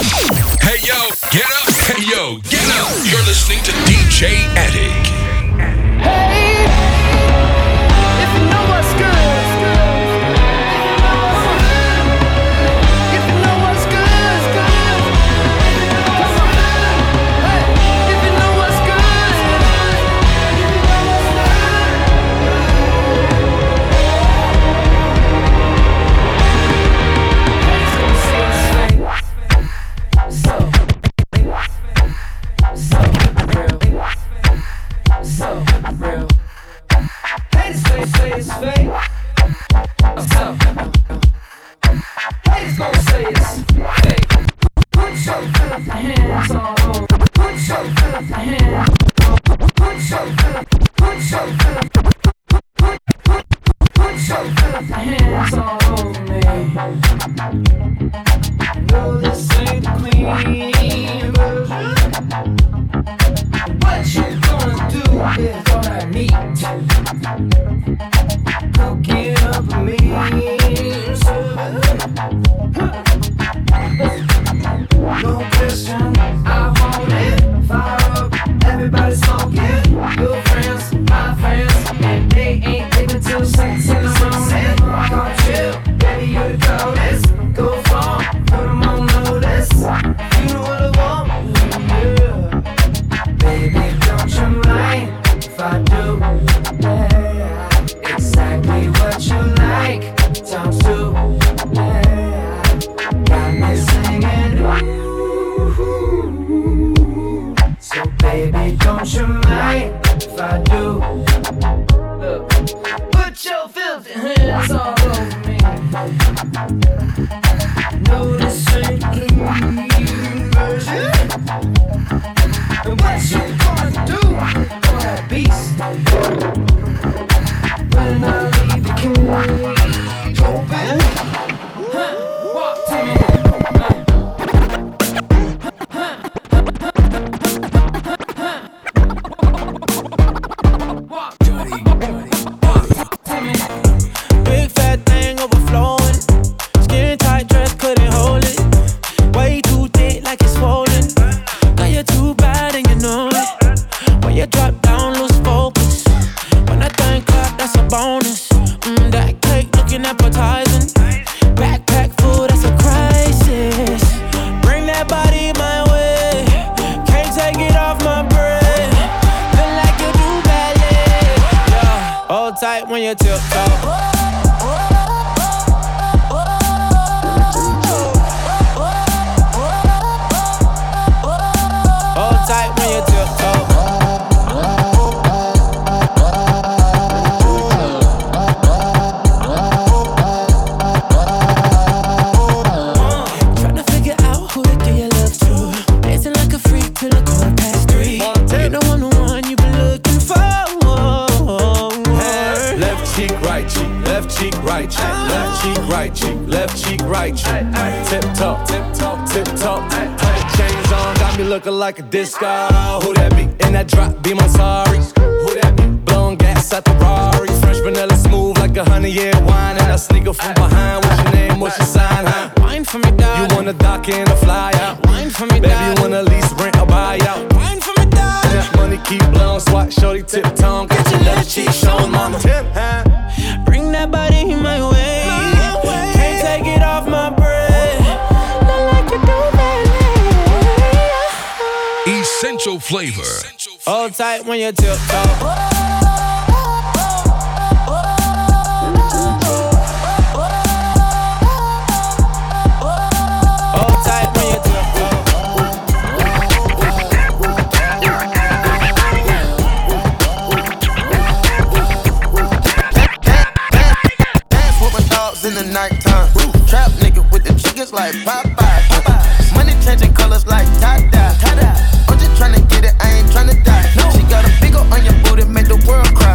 Hey yo, get up! Hey yo, get up! You're listening to DJ Attic. Hey, if you know what's good, if you know what's good, hey, if you know what's so real. Haters say it's fake. So haters gon' say it's fake. Put your filthy hands all over. Put your filthy hands. Put your hands all over me. No, this ain't the clean version. What you gonna do is all I need. Cook it up for me, no question, I want it. Fire up, everybody smoking. Your friends, my friends, and they ain't living till 6 in the morning. Come chill, baby, you the coldest. Go far, put them on notice. You know what I want, yeah. Baby, don't you mind if I do? Yeah, exactly what you like. Times two, yeah. Got me singing, ooh. So baby, don't you mind if I do? Look, put your filthy hands all over me. No, this ain't clean version. And what you gonna do for that beast? When I leave the cage open, walk to me. Walk to me. Big fat thing overflowing. Skin tight dress couldn't hold it. Way too thick like it's swollen. Got you too bad and you know it. When you drop down, lose focus. When that thing clap, that's a bonus. That cake looking appetizing. Backpack full, that's a crisis. Bring that body my way. Can't take it off my breath. Feel like you do ballet. Yeah, hold tight when you tiptoe. Hold tight when you tiptoe. Tryna figure out who to give your love to. Dancing like a freak till the 3:15. You know I'm the one you've been looking for. Left cheek, right cheek, left cheek, right cheek, left cheek, right cheek, left cheek, right cheek. Tip top, tip top, tip top. Chains on, got me looking like a disco. Who that be? In that drop, be my sorry. Who that be? Blowing gas at the Rari. Fresh vanilla smooth like a 100-year wine. And I sneak up from behind. What's your name? What's your sign? Huh? Wine for me, dad. You wanna dock in or fly out? Wine for me, Baby, dad. you wanna lease, rent or buy out? Wine for me, dad. And that money keep blowing, swat, shorty, tip tongue. Get your left cheek shown, mama. Tip, huh? Bring that body my way. Can't take it off my breath. Not like you do, baby. Essential flavor. Hold tight when you tiptoe. Hold tight when you tiptoe. Dance with my dogs in the nighttime. Trap nigga with the chickens like Popeye. Money changing colors like tie-dye. I'm just tryna get it, I ain't tryna die. She got a big ol' on your booty, make the world cry.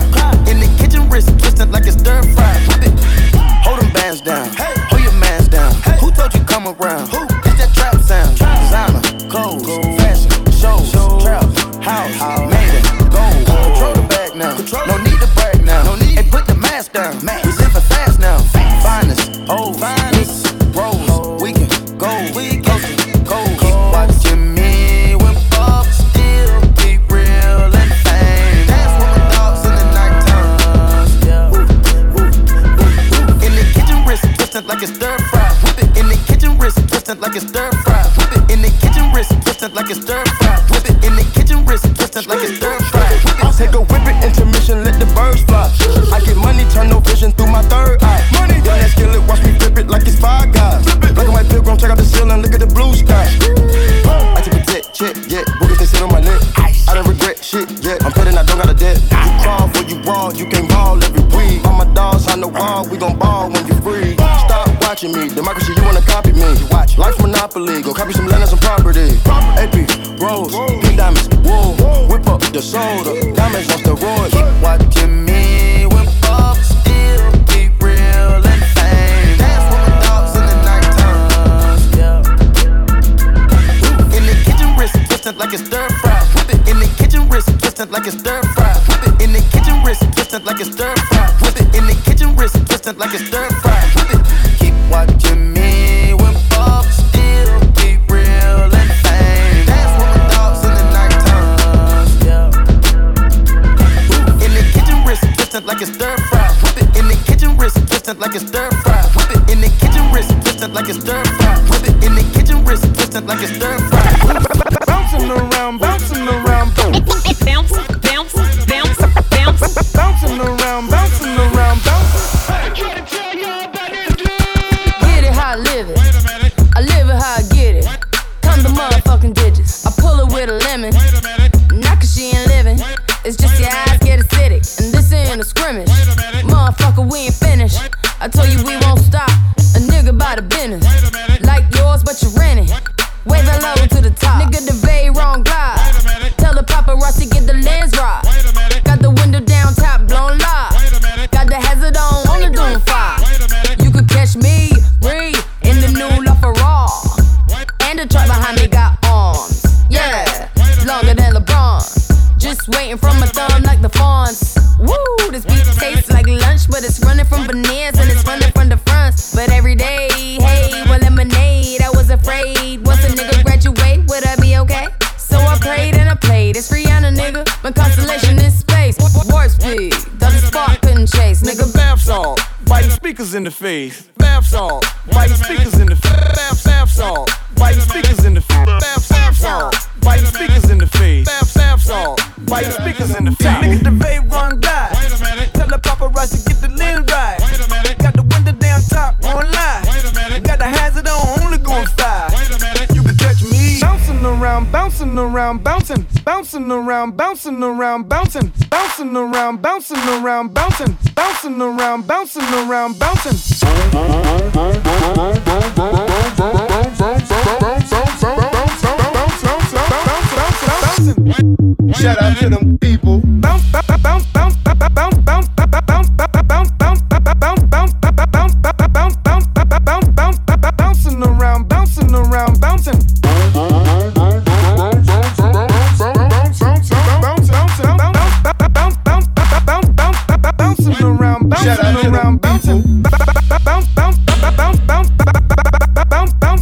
twisted like it's stir fry. Whip it in the kitchen, wrist twisted like it's stir fry. Take a whip it, intermission, let the birds fly. I get money, turn no vision through my third eye. Money, down that skillet, watch me flip it like it's Five Guys. Black and white pilgrim, check out the ceiling, look at the blue sky. I take a check, yeah, boogers they sit on my neck. I don't regret shit, yeah, I'm petting, I don't got a debt. You crawl for you brawl, you can't ball every week. All my dogs on the wall, we gon' ball when you free. Stop watching me, democracy, you wanna copy me. Watch, life's monopoly, go copy some land and some property. AP, Rose, pink diamonds, wool, whip up the soda, diamonds on steroids. Keep watching me, whip up, still be real and fame. Dance with my dogs in the nighttime. In the kitchen, wrist twisted like it's stir fry. Whip it in the kitchen, wrist twisted like it's stir fry. Whip it in the kitchen, wrist twisted like it's stir fry. Whip it in the kitchen, wrist twisted like it's stir fry. Whip it, keep watching me, whip up, still be real and fame. Dance with my dogs in the nighttime. In the kitchen, wrist twisted like it's stir fry. Whip it in the kitchen, wrist twisted like it's stir fry. Whip it in the kitchen, wrist twisted like it's stir fry. Whip it in the kitchen, wrist twisted like it's stir fry. Bouncing around, bouncing around, bounce, bounce, bounce, bounce, bounce, bouncing around, bouncing around, bounce. Get it how I live it. I live it how I get it. Come the motherfucking digits. I pull it with a lemon. Not cause she ain't living. It's just your eyes get acidic. And this ain't a scrimmage. Motherfucker, we ain't finished. I told you we won't stop. A nigga by the business. Like yours, but you renting. Way the low to the top. Nigga, the very wrong glide. Tell the paparazzi get the lens right. Got the window down, top blown live. Got the hazard on the doom fire. You could catch me, breathe, in the new LaFerrari. And the truck behind me got arms. Yeah, longer than LeBron. Just waiting from my thumb like the fawns. Woo, this beat tastes like lunch, but it's running from veneers and it's running from the fronts. But every day, hey, well, lemonade. I was afraid. Once a nigga graduate, would I be okay? So I prayed and I played. It's Rihanna, nigga. My constellation in space. Warp speed, though the spark couldn't chase. Nigga, bath salt, biting speakers in the face. Bath salt, biting speakers in the face. Bath salt, biting speakers in the face. Bath salt, biting speakers in the face. Bath salt, biting speakers in the face. Nigga, the vape run die. Tell the paparazzi get the lens right. Got the window down top, won't lie. Got the hazard on, only going 5. You can catch me bouncing around, bouncing around, bouncing, bouncing around, bouncing around, bouncing, bouncing around, bouncing around, bouncing, bouncing around, bouncing around, bouncing. Shout out to them people. Bounce, bounce, bounce, bounce, bounce, bounce, bounce, bounce, bounce, bounce, bouncing around, bouncing around, bouncing. Bouncing around, bouncing around, bouncing. Bounce, bounce, bounce, bounce, bounce, bounce, bounce,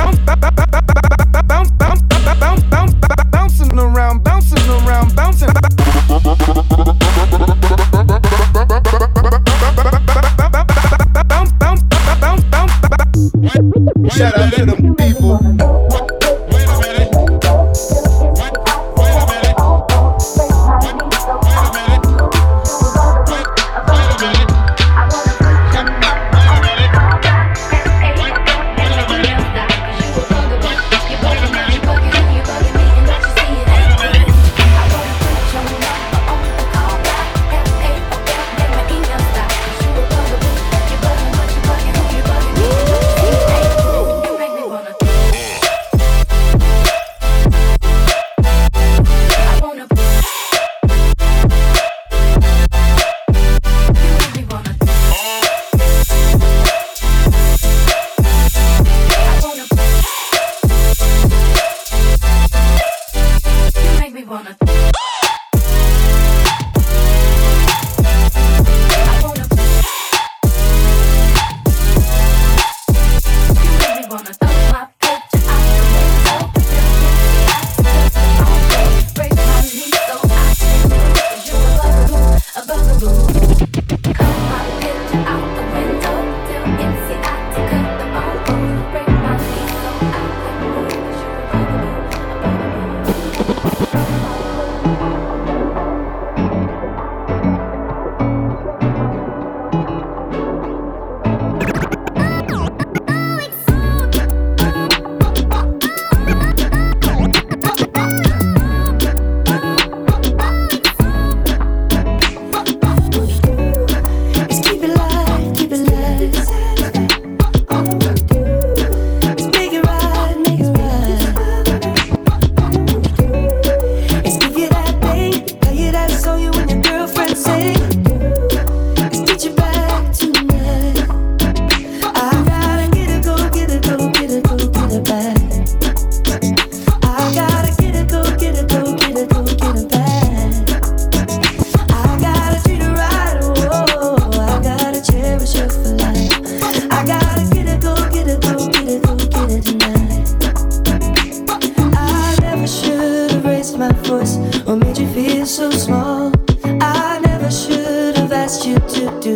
bouncing around, bouncing around, bouncing. Shout out to them people.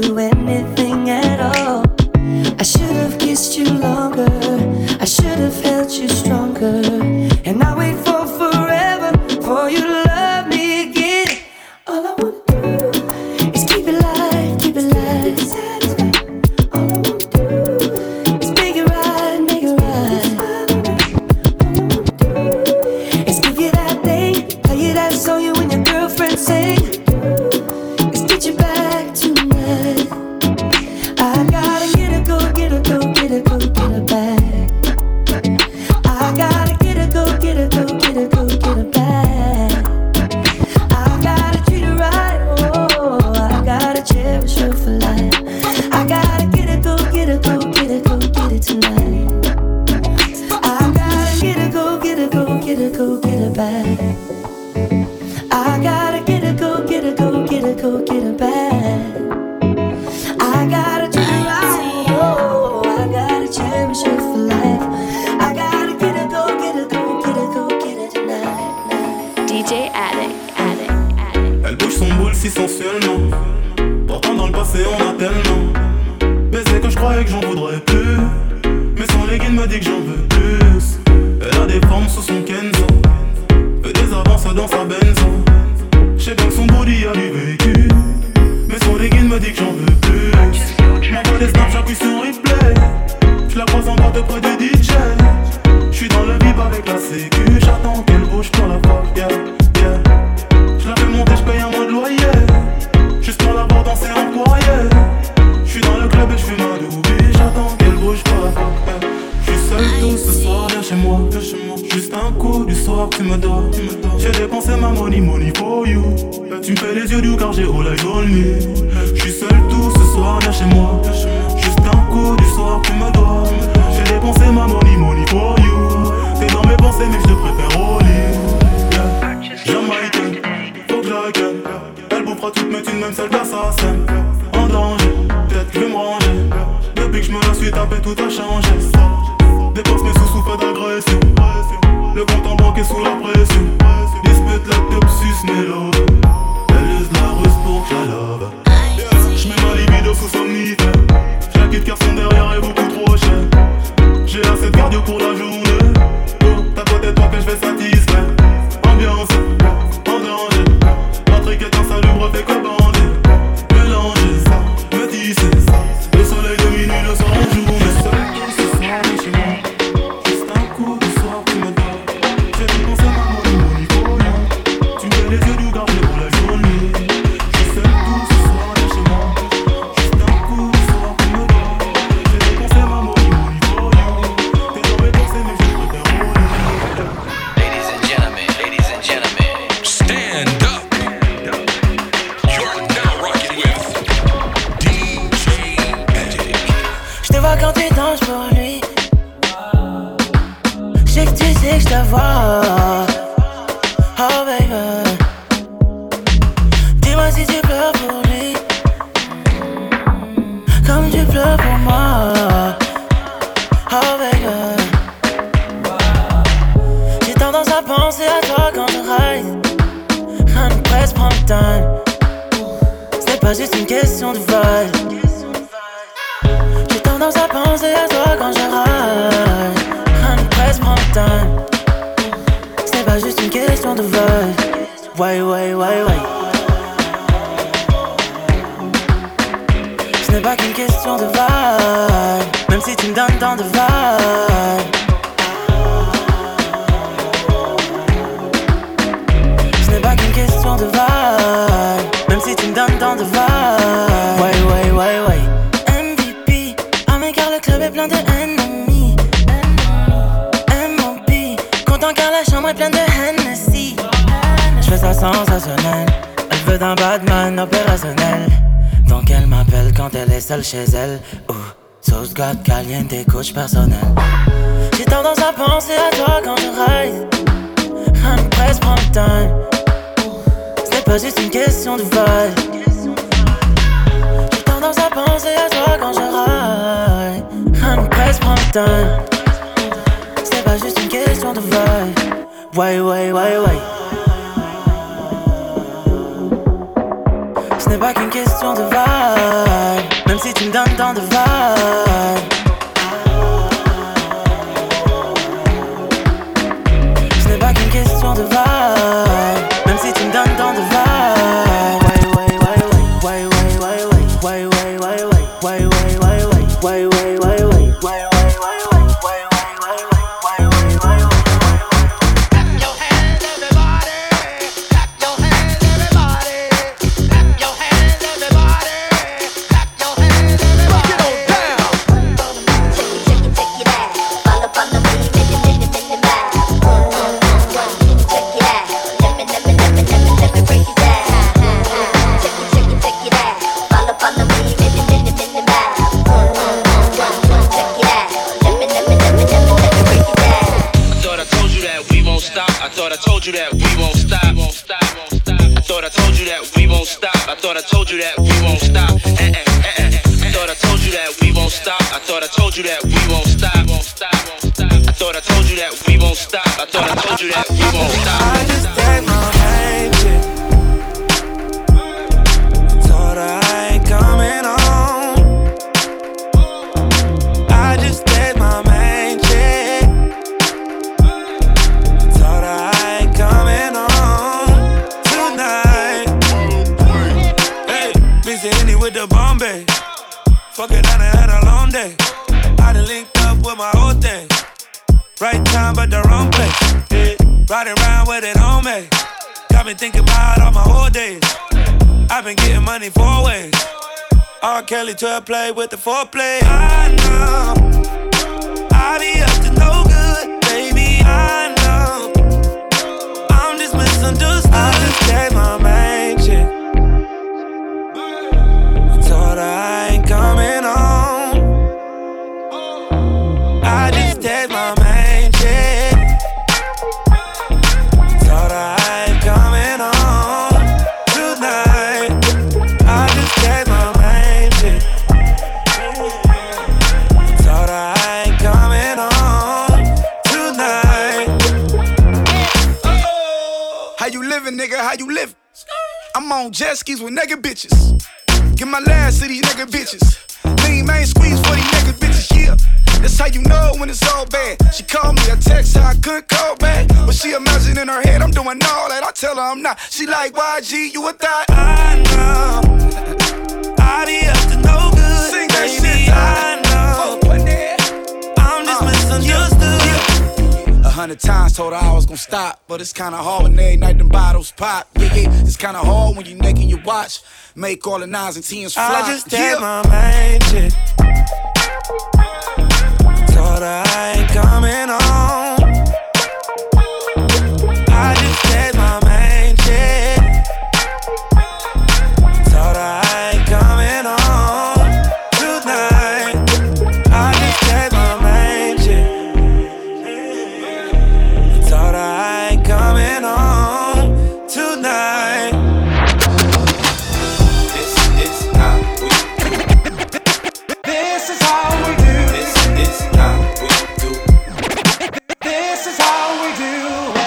do anything at all. I should have kissed you longer, I should have held you stronger. And I wait for forever for you to love me again. All I wanna do is keep it light, keep it light. All I wanna do is make it right, make it right. All I wanna do is give you that thing, play you that song you and your girlfriend sing. Is get you back tonight. I gotta get her, go get her, go get her, go get her back. I gotta get her, go get her, go get her, go get her back. I gotta treat her right, oh, I gotta cherish her for life. I gotta get her, go get her, go get her, go get her tonight. I gotta get her, go get her, go get her, go get her back. I gotta get her, go get her, go get her, go get her back. I gotta treat her right, oh, I gotta cherish her for life. I gotta get her, go get her, go get her, go get her tonight. DJ Attic. Elle bouge son boule si sensuellement. Pourtant dans le passé on a tellement baisé que je croyais que j'en voudrais plus. Mais son legging me dit que j'en veux plus. Elle a des formes sous son Kenzo, fait des avances dans sa benzo. J'sais bien que son body a du vécu, mais son legging me dit que j'en veux plus. J'm'envoie des snaps, j'appuie sur replay. J'la croise en boîte auprès du DJ. J'suis dans le vip avec la sécu. J'attends qu'elle bouge pour la fuck, yeah, yeah. J'la fais monter, j'paye un mois de loyer, juste pour la voir danser en foyer. J'suis dans le club et j'fume un doobie. J'attends qu'elle bouge pour la fuck, yeah. J'suis seul tout ce soir, viens chez moi. Juste un coup du soir, tu me dors. J'ai dépensé ma money for you. Tu me fais les yeux doux car j'ai all eyes on me. J'suis seul tout ce soir, viens chez moi. Juste un coup du soir, tu me dois. J'ai dépensé ma money for you. T'es dans mes pensées mais je te préfère au lit, yeah. Jamaïcaine, faut que je la ken. Elle bouffera toutes mes thunes, même celle d'assassin. En danger, peut-être que je vais me ranger. Depuis que je me la suis tapé, tout a changé. Dépense mes sous fait d'agression. Le compte en banque est sous la pression. Dispute la topsus mélo. Elle use la ruse pour que je la love. J'mets ma libido sous somnifère. J'la quitte car son derrière est beaucoup trop cher. J'ai assez de cardio pour la journée. Oh, t'as peut-être toi que je vais satisfaire. Ambiance, en danger. Patrick est insalubre, fait que bander. Mélanger, métisser. Le soleil de minuit, le soir en jour. Mais seul tout ce soir, chez moi. Juste un coup du soir, tu me donnes. J'ai dépensé ma money for you. Tu me fais les yeux doux, garde pour la journée. Je suis seul tout ce soir, chez moi. Juste un coup du soir, tu me donnes. J'ai dépensé ma money for you. T'es dans mes pensées, mais je préfère rouler. Ladies and gentlemen, Stand up. You're now rocking with DJ Attic. Je te vois quand tu danses pour lui. Je sais que tu sais que je te vois. Oh baby, dis-moi si tu pleures pour lui, comme tu pleures pour moi. Oh baby, j'ai tendance à penser à toi quand je ride. Rien ne presse, prends le temps. C'est pas juste une question de vibe. J'ai tendance à penser à toi quand je ride. Rien ne presse, prends le temps. C'est pas juste une question de vibe. Ouais. Ce n'est pas qu'une question de vibe, même si tu me donnes tant de vibe. Ce n'est pas qu'une question de vibe, même si tu me donnes tant de vibe. Ouais. MVP, ah mais car le club est plein de ennemis. M.O.P, content car la chambre est pleine de Hennessy. Je fais ça sensationnel, elle veut d'un Batman opérationnel. Donc elle m'appelle quand elle est seule chez elle. Sauce God caliente, coach personnel. J'ai tendance à penser à toi quand je ride. Rien ne presse, prends le temps. Ce n'est pas juste une question de vibe. J'ai tendance à penser à toi quand je ride. Rien ne presse, prends le temps. Ce n'est pas juste une question de vibe. Ouais. n'est pas qu'une question de vibe, même si tu me donnes tant de vibe. Ce n'est pas qu'une question de vibe, même si tu me donnes tant de vibe. Kelly to play with the foreplay. I know I be up to no good, baby. I know I'm just misunderstood. I just gave my main chick. I told her I ain't coming home. I just gave my main chick. I told her I ain't coming home tonight. I just gave my nigga, how you living? I'm on jet skis with nigga bitches. Get my last to these nigga bitches. Lean main squeeze for these nigga bitches, yeah. That's how you know when it's all bad. She called me, I text her, I couldn't call back. But she imagine in her head, I'm doing all that. I tell her I'm not. She like, YG, you a thot? I know I be up to no good. Sing that shit, I know I'm just misunderstood. 100 times told her I was gon' stop, but it's kinda hard when every night them bottles pop. Yeah, it's kinda hard when you naked your watch. Make all the 9s and 10s fly. I just did my main chick. Told her I ain't coming home. I just did my main chick. Told her I ain't coming home tonight. I just did my main chick. Told her I ain't coming home tonight. This is how we do. This is how we do. This is how we do. This is how we do it.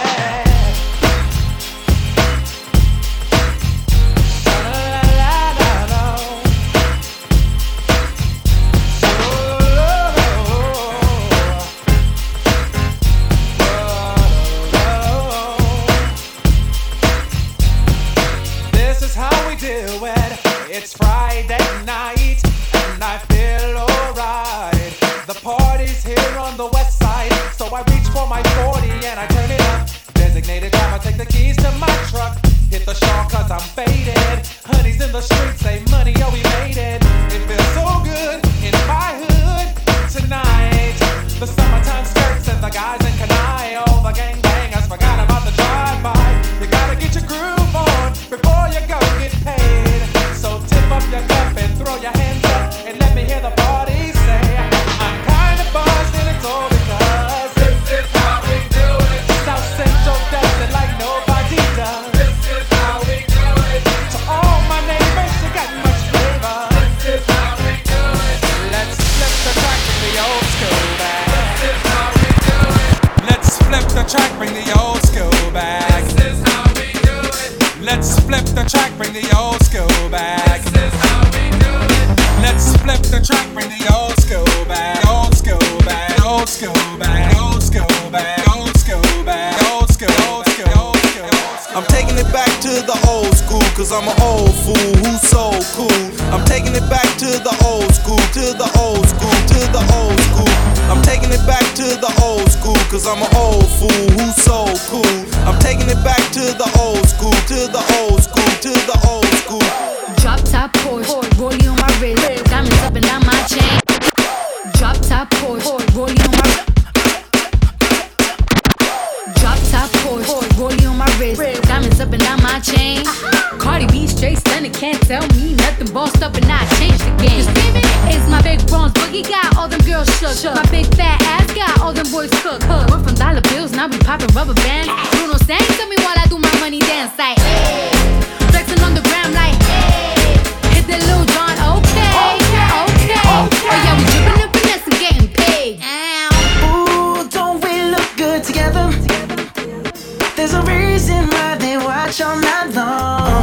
This is how we do it. It's Friday night and I feel alright. The party's here on the west side, so I reach for my 40 and I turn it up. Designated driver, take the keys to my truck. Hit the shawl cause I'm faded. Honey's in the streets, say money, oh we made it. It feels so good in my hood tonight. The summertime skirts and the guys in Kanai. All the gangbangers forgot about the drive-by. You gotta get your groove on before you go get paid. So tip up your cup and throw your hands up and let me hear the party say, I'm kinda buzzed and it's all because this is how we do it. South Central does it like nobody does. This is how we do it. To all my neighbors, you got taking it back to the old school, cause I'm an old fool who's so cool. I'm taking it back to the old school, to the old school, to the old school. I'm taking it back to the old school, cause I'm an old fool who's so cool. I'm taking it back to the old school, to the old school, to the old school. Drop top Porsche, rollie on my wrist, diamonds up and down my chain. Drop top Porsche, rollie on my drop top Porsche, rollie on my wrist, diamonds up and down my chain. Cardi B straight stunning, can't tell me nothing. Bossed up and I changed the game. Just baby, it's my big bronze boogie, got all them girls shook. My big fat ass got all them boys cooked. Went from dollar bills, now we popping rubber bands. Bruno sang to me while I do my money dance like hey. Flexing on the gram like hey. Hit that Lil Jon, okay. Oh yeah, we drippin' and finesse and getting paid. Ooh, don't we look good together? There's a reason why they watch all night long.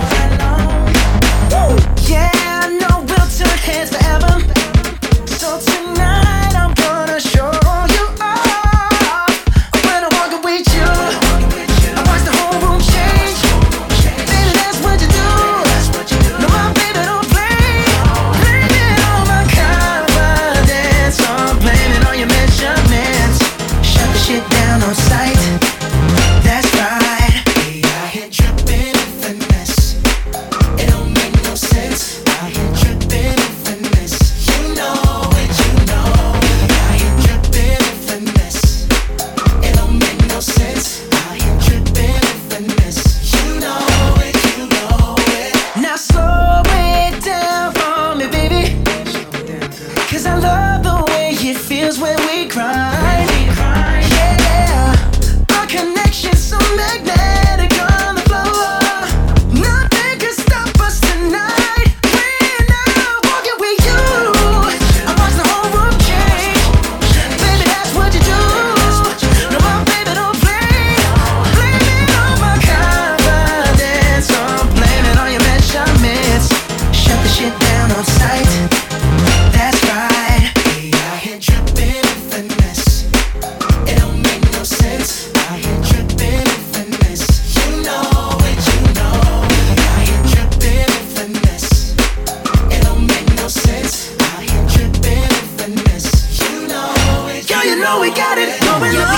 Yeah, I know we'll turn heads forever. So tonight I'm gonna show you off. When I walk with you, I watch the whole room change. Baby, that's what you do. No, my baby don't play. Blame it on my confidence, or blame it on your measurements. Shut the shit down on sight. That's right. We out here dripping in finesse. It don't make no sense. Out here dripping in finesse. You know it, you know. We out here dripping in finesse. It don't make no sense. Out here dripping in finesse. You know it, you know it. Now slow it down for me, baby. Cause I love the way it feels when we grind. Yeah, our connection's so magnetic on the floor. Nothing can stop us tonight. When I'm walking with you, I watch the whole room change. Baby, that's what you do. No, my baby don't play. Blame it on my confidence, or blame it on your measurements. Shut the shit down on sight. That's right. We out here dripping in finesse. It don't make no sense. Out here dripping in finesse. You know it, you know. We out here dripping in finesse. It don't make no sense. Out here dripping in finesse. You know it. Girl, you know we got it going on.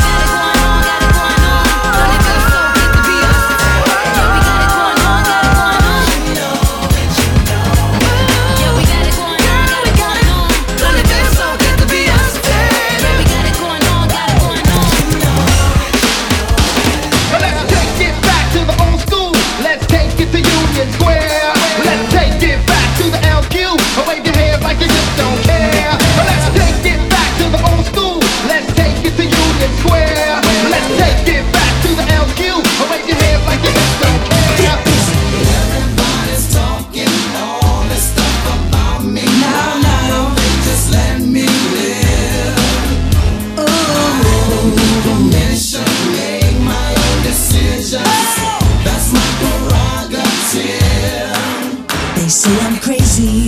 Let's take it back to the old school. Let's take it to Union Square. Let's take it back to the LQ. Wave your hands like you just don't care. Let's take it back to the old school. Let's take it to Union Square. Let's take it back to the LQ. Wave your hands like you just don't care. Everybody's talking all this stuff about me. Now, they just let me live. I don't need permission, make my own decisions. That's my prerogative. They say I'm crazy,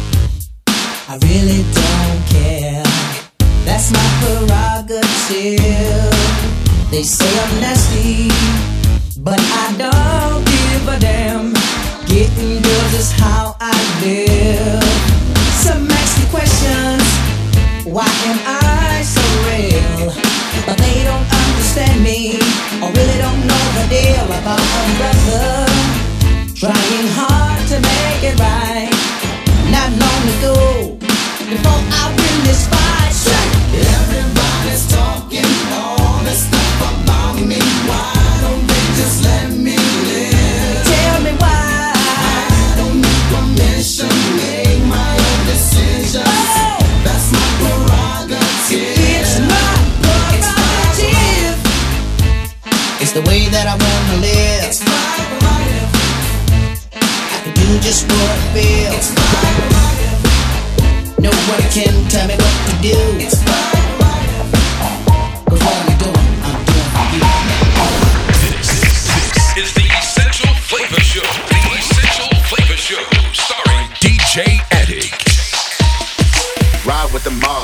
I really don't care. That's my prerogative. They say I'm nasty, but I don't give a damn. Getting girls is how I live. Some ask me questions, why am I so real? But they don't understand me, or really don't know the deal about a brother trying hard to make it right. Not long ago, before I win this fight. Everybody's talking all this stuff about me. Why don't they just let me live? Tell me why. I don't need permission, make my own decisions. That's my prerogative. It's my prerogative. It's the way that I wanna live. It's my prerogative. I can do just what I feel. It's my prerogative. No one can tell me what to do. It's my prerogative. Cause what I'm doing for you. This is the Essential Flavor Show. The Essential Flavor Show, starring DJ Attic. Ride with the mob,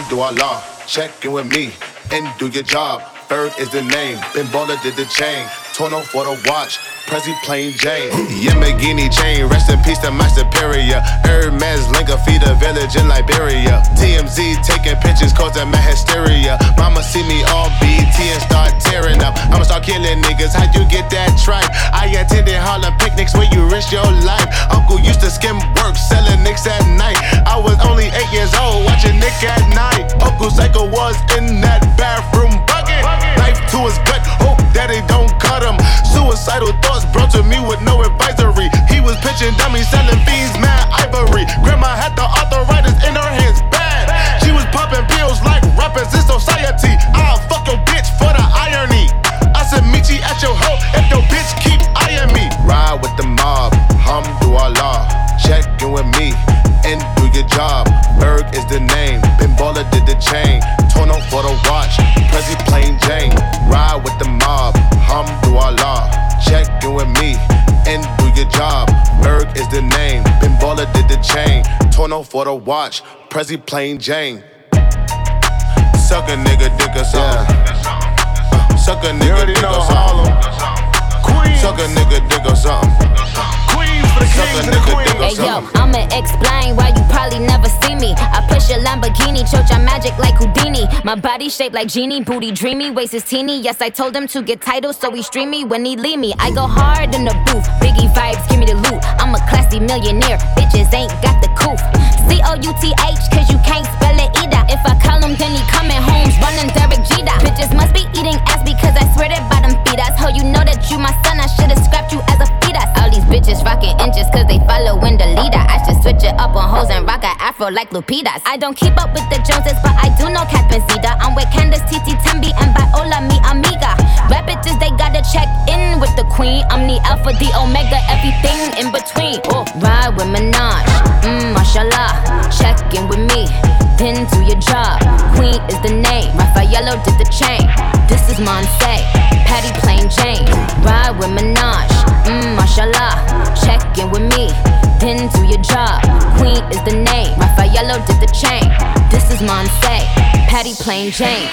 Hamdulillah. Check in with me and do your job. Bird is the name, Ben Baller did the chain. Tono for the watch, Prezi plain Jane. Yamagini chain, rest in peace to my superior. Hermes Linka feed a village in Liberia. TMZ taking pictures causing my hysteria. Mama see me on BT and start tearing up. I'ma start killing niggas, how you get that tripe? I attended Harlem picnics where you risk your life. Uncle used to skim work, selling nicks at night. I was only 8 years old, watching Nick at night. Uncle Psycho was in that bathroom bucket. Knife to his gut, hope that it don't cut him. Suicidal thoughts brought to me with no advisory. He was pitching dummies, selling fiends, mad ivory. Grandma had the arthritis in her hands, bad. She was popping pills like rappers in society. I'll fuck your bitch for the irony. I said meet you at your hoe if your bitch keep eyeing me. Ride with the mob, hamdulillah. Check in with me and do your job. Berg is the name, Ben Baller did the chain. Tono for the watch, Prezi plain Jane. Ride with the mob, hamdulillah. Check in with me and do your job. Berg is the name, Ben Baller did the chain. Tono for the watch, Prezi plain Jane. Suck a nigga dick or something. Suck a nigga dick or something. Suck a nigga dick or something. Hey yo, I'ma explain why you probably never see me. I push a Lamborghini, choke your magic like Houdini. My body shaped like genie, booty dreamy, waist is teeny. Yes, I told him to get titles, so he stream me when he leave me. I go hard in the booth, Biggie vibes, give me the loot. I'm a classy millionaire, bitches ain't got the coof. C-O-U-T-H, cause you can't spell it either. If I call him, then he coming home, running Derek Jeter. Bitches must be eating ass because I swear that bottom feed us. Ho, you know that you my son, I should've scrapped you as a fetus. All these bitches rocking inches cause they following the leader. I should switch it up on hoes and rock a afro like Lupitas. I don't keep up with the Joneses, but I do know Catherine Zeta. I'm with Candace, Titi, Tembi, and Viola, mi amiga. Rap bitches, they gotta check in with the queen. I'm the alpha, the omega, everything in between. Oh, ride with Minaj, mashallah. Check in with me, then do your job. Queen is the name, Raffaello did the chain. This is Monse, Patty plain Jane. Ride with Minaj, mashallah. Check in with me, then do your job. Queen is the name, Raffaello did the chain. This is Monse, Patty plain Jane.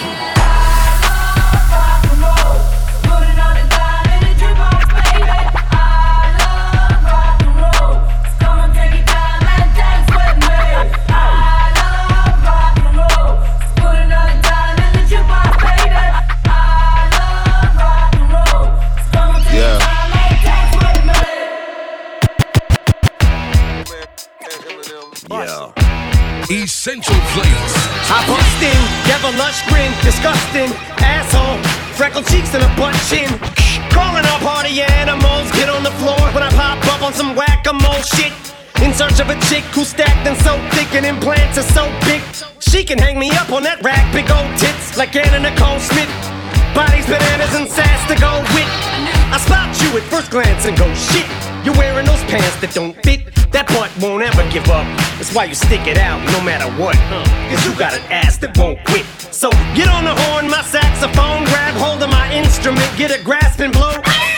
Essential flavors. I bust in, devil lush grin, disgusting asshole, freckled cheeks and a butt chin. Calling all party animals, get on the floor when I pop up on some whack-a-mole shit. In search of a chick who's stacked and so thick and implants are so big. She can hang me up on that rack, big old tits like Anna Nicole Smith. Bodies, bananas, and sass to go with. I spot you at first glance and go, shit, you're wearing those pants that don't fit. That butt won't ever give up. That's why you stick it out no matter what. Cause you got an ass that won't quit. So get on the horn, my saxophone, grab hold of my instrument, get a grasp and blow.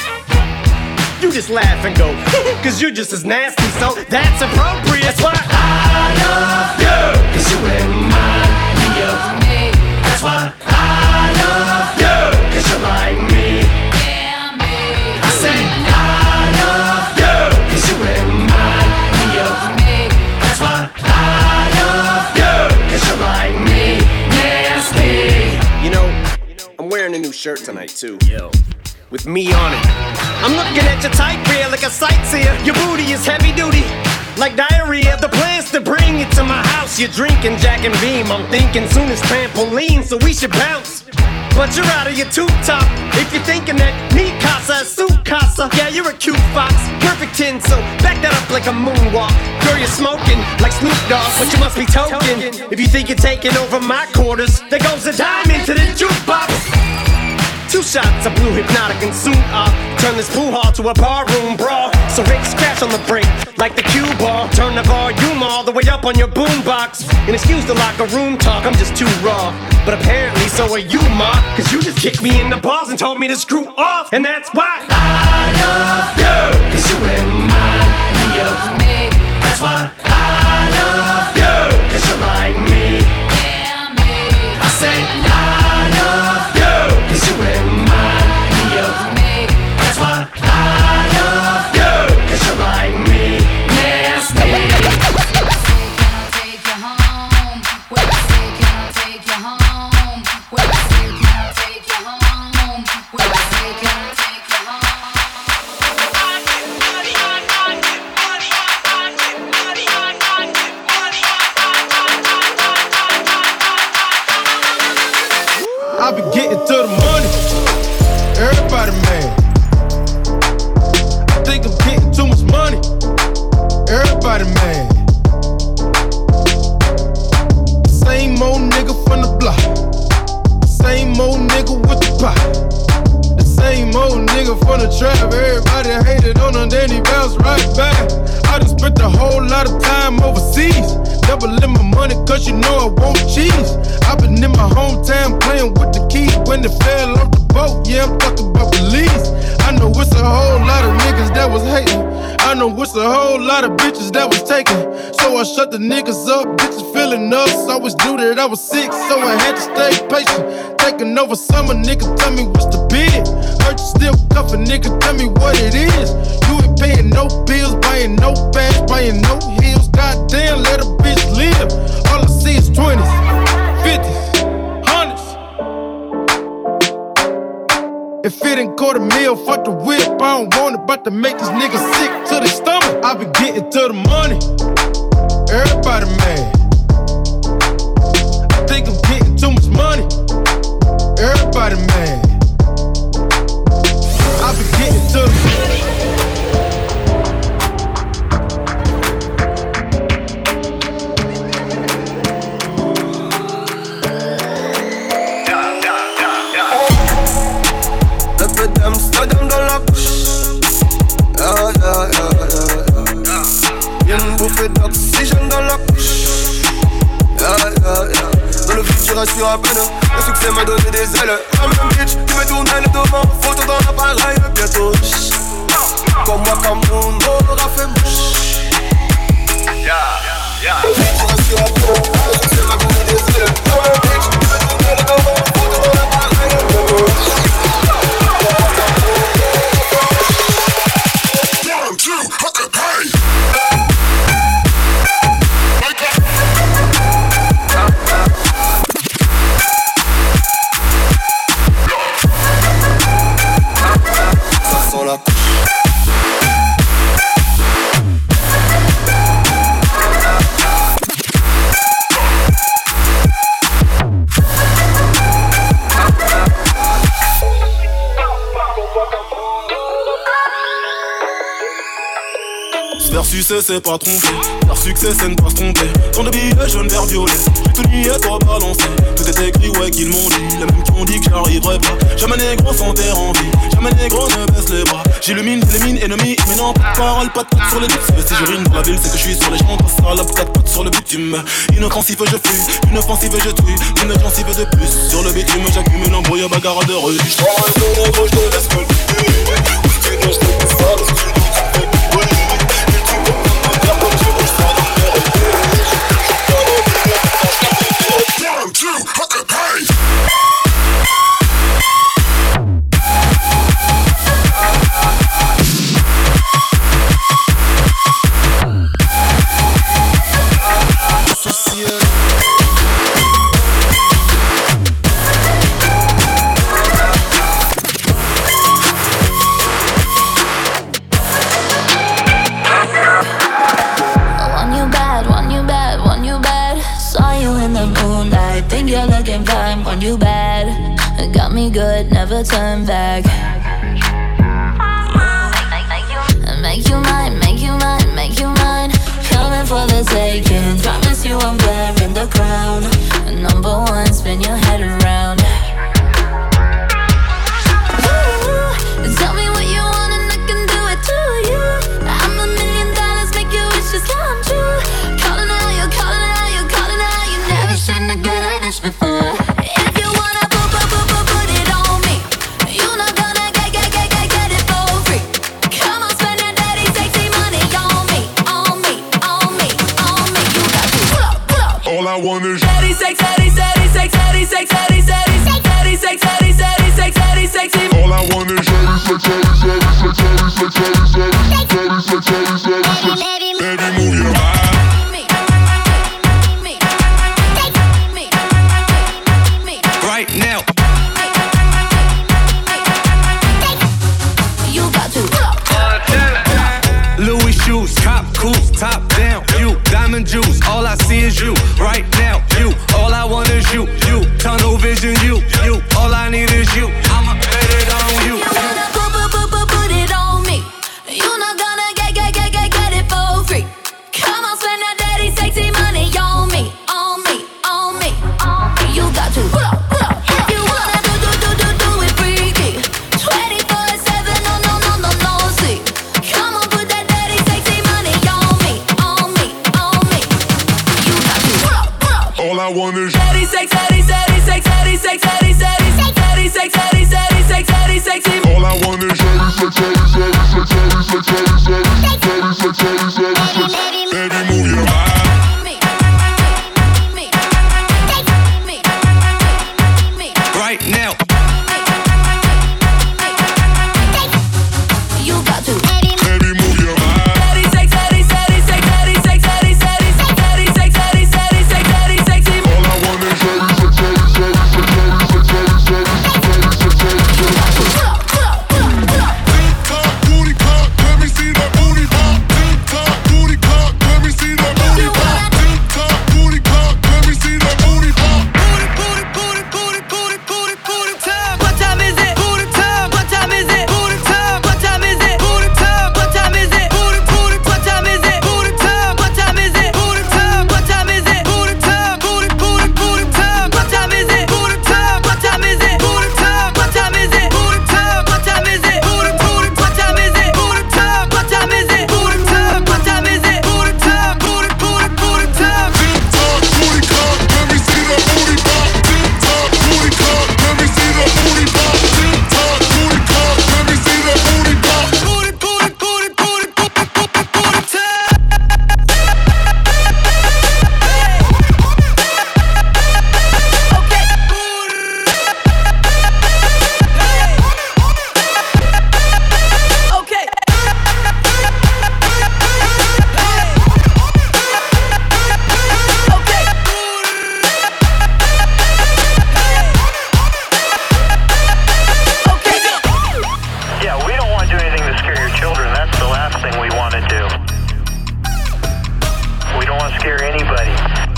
You just laugh and go, cause you're just as nasty, so that's appropriate. That's why I love you, cause you remind me of me. That's why I love you, cause you're like me. Yeah, me. I say I love you, cause you remind me of me. That's why I love you, cause you're like me. Nasty. You know, I'm wearing a new shirt tonight too. Yo. With me on it. I'm looking at your tight rear like a sightseer. Your booty is heavy duty, like diarrhea. The plan's to bring you to my house. You're drinking Jack and Beam. I'm thinking soon as trampoline, so we should bounce. But you're out of your tube top if you're thinking that me casa is su casa. Yeah, you're a cute fox, perfect 10, so back that up like a moonwalk. Girl, you're smoking like Snoop Dogg, but you must be token. If you think you're taking over my quarters, there goes a dime into the jukebox. 2 shots of blue hypnotic and soon I'll turn this pool hall to a barroom brawl. So Rick scratch on the break like the cue ball. Turn the volume all the way up on your boombox. And excuse the locker room talk, I'm just too raw. But apparently so are you, ma, cause you just kicked me in the balls and told me to screw off. And that's why I love you, cause you remind me of me. That's why I love you, cause you're like me. Yeah, me. I say I love you, cause you remind me of me. nigga from the trap. Everybody hated on him, then he bounced right back. I done spent a whole lot of time overseas. Doubling my money cause you know I want cheese. I been in my hometown playing with the keys when it fell off the boat. Yeah, I'm talking about Belize. I know it's a whole lot of niggas that was hating. I know it's a whole lot of bitches that was taken. So I shut the niggas up, bitches feeling us. Always knew that I was sick, so I had to stay patient. Taking over summer, nigga, tell me what's the bid. Heard you still cuffin', nigga, tell me what it is. You ain't paying no bills, buying no bags, buying no heels. Goddamn, let a bitch live. All I see is 20s, 50s, 100s. If it ain't $250,000, fuck the whip, I don't want it. About to make these niggas sick to the stomach. I been getting to the money, everybody mad. I think I'm getting too much money, everybody mad. I been getting to the money. Amsterdam dans la couche. Y'a une bouffée d'oxygène dans la couche. Dans le futur assure à peine. Le succès m'a donné des ailes. I'm a bitch, tu me tournes le devant. Photo dans l'appareil bientôt. Comme moi, Cameroun, aura fait mouche. Le futur assure à peine. Le succès m'a donné des ailes. I'm a bitch, tu me tournes le devant. Photo dans l'appareil bientôt. Faire succès c'est pas tromper, faire succès c'est ne pas se tromper. Tant de billets jaune vert violet, tout nié toi balancer. Tout est écrit ouais qu'ils m'ont dit, les mêmes qui ont dit que j'arriverai pas. Jamais négro sans terre en vie, jamais négro ne baisse les bras. J'illumine les mines ennemies, mais non pas de parole, pas de côte sur les doutes. Si je rime dans la ville c'est que je suis sur les champs, pas salope, 4 potes sur le bitume. Inoffensif je fuis, inoffensive je tue, une offensive de plus. Sur le bitume j'accumule embrouille, bagarre de rue. J'prends un peu négro, je te laisse me le tu je te laisse pas, Want you bad, got me good, never turn back. Make you mine, make you mine, make you mine. Coming for the taking. Promise you I'm wearing the crown. Number one, spin your head around. Ooh, tell me what you want and I can do it to you. I'm $1 million, make your wishes come true. Calling out, you're calling out, you're calling out. You never seen a girl like this before. All I want is daddy sex, daddy, daddy sex, daddy sex, daddy want is Daddy sex, daddy, daddy sex, daddy sex, daddy, daddy sex, daddy sex, daddy, daddy sex, daddy sexy. all I want is daddy sex, daddy sex, daddy sex, daddy sex, daddy sex, daddy sex, daddy sex. Baby, move your body. Right now. You got to. Baby, move your body. Daddy sex, daddy, daddy sex, daddy sex, daddy, daddy sex, daddy sex, daddy, daddy sex, daddy sexy. All I want is daddy sex, daddy sex, daddy sex, daddy sex, daddy sex, daddy sex. Tick-tock, booty cock, let me see that booty pop. Tick-tock, booty cock, let me see that booty pop. Tick-tock, booty cock, let me see that booty pop. What time is it? Booty time. What time is it? Booty time. What time is it? Booty time. What time is it? Booty booty. What time is it? Booty time. What time is it? Booty time. What time is it? Booty time. Booty booty booty time. What time is it? Booty time. What time is it? Booty time. What time is it? Booty time. What time is it? Booty booty. What time is it? Booty time. What time is it? Booty time. What time is it? Booty time. Booty booty booty time. Tick-tock, booty cock, let me see that booty pop. Tick-tock, booty cock, let me see that booty pop. Tick-tock, booty cock, let me see that booty pop. Booty booty booty booty booty time. Okay. Yeah, we don't want to do anything to scare your children. That's the last thing we want to do. We don't want to scare anybody.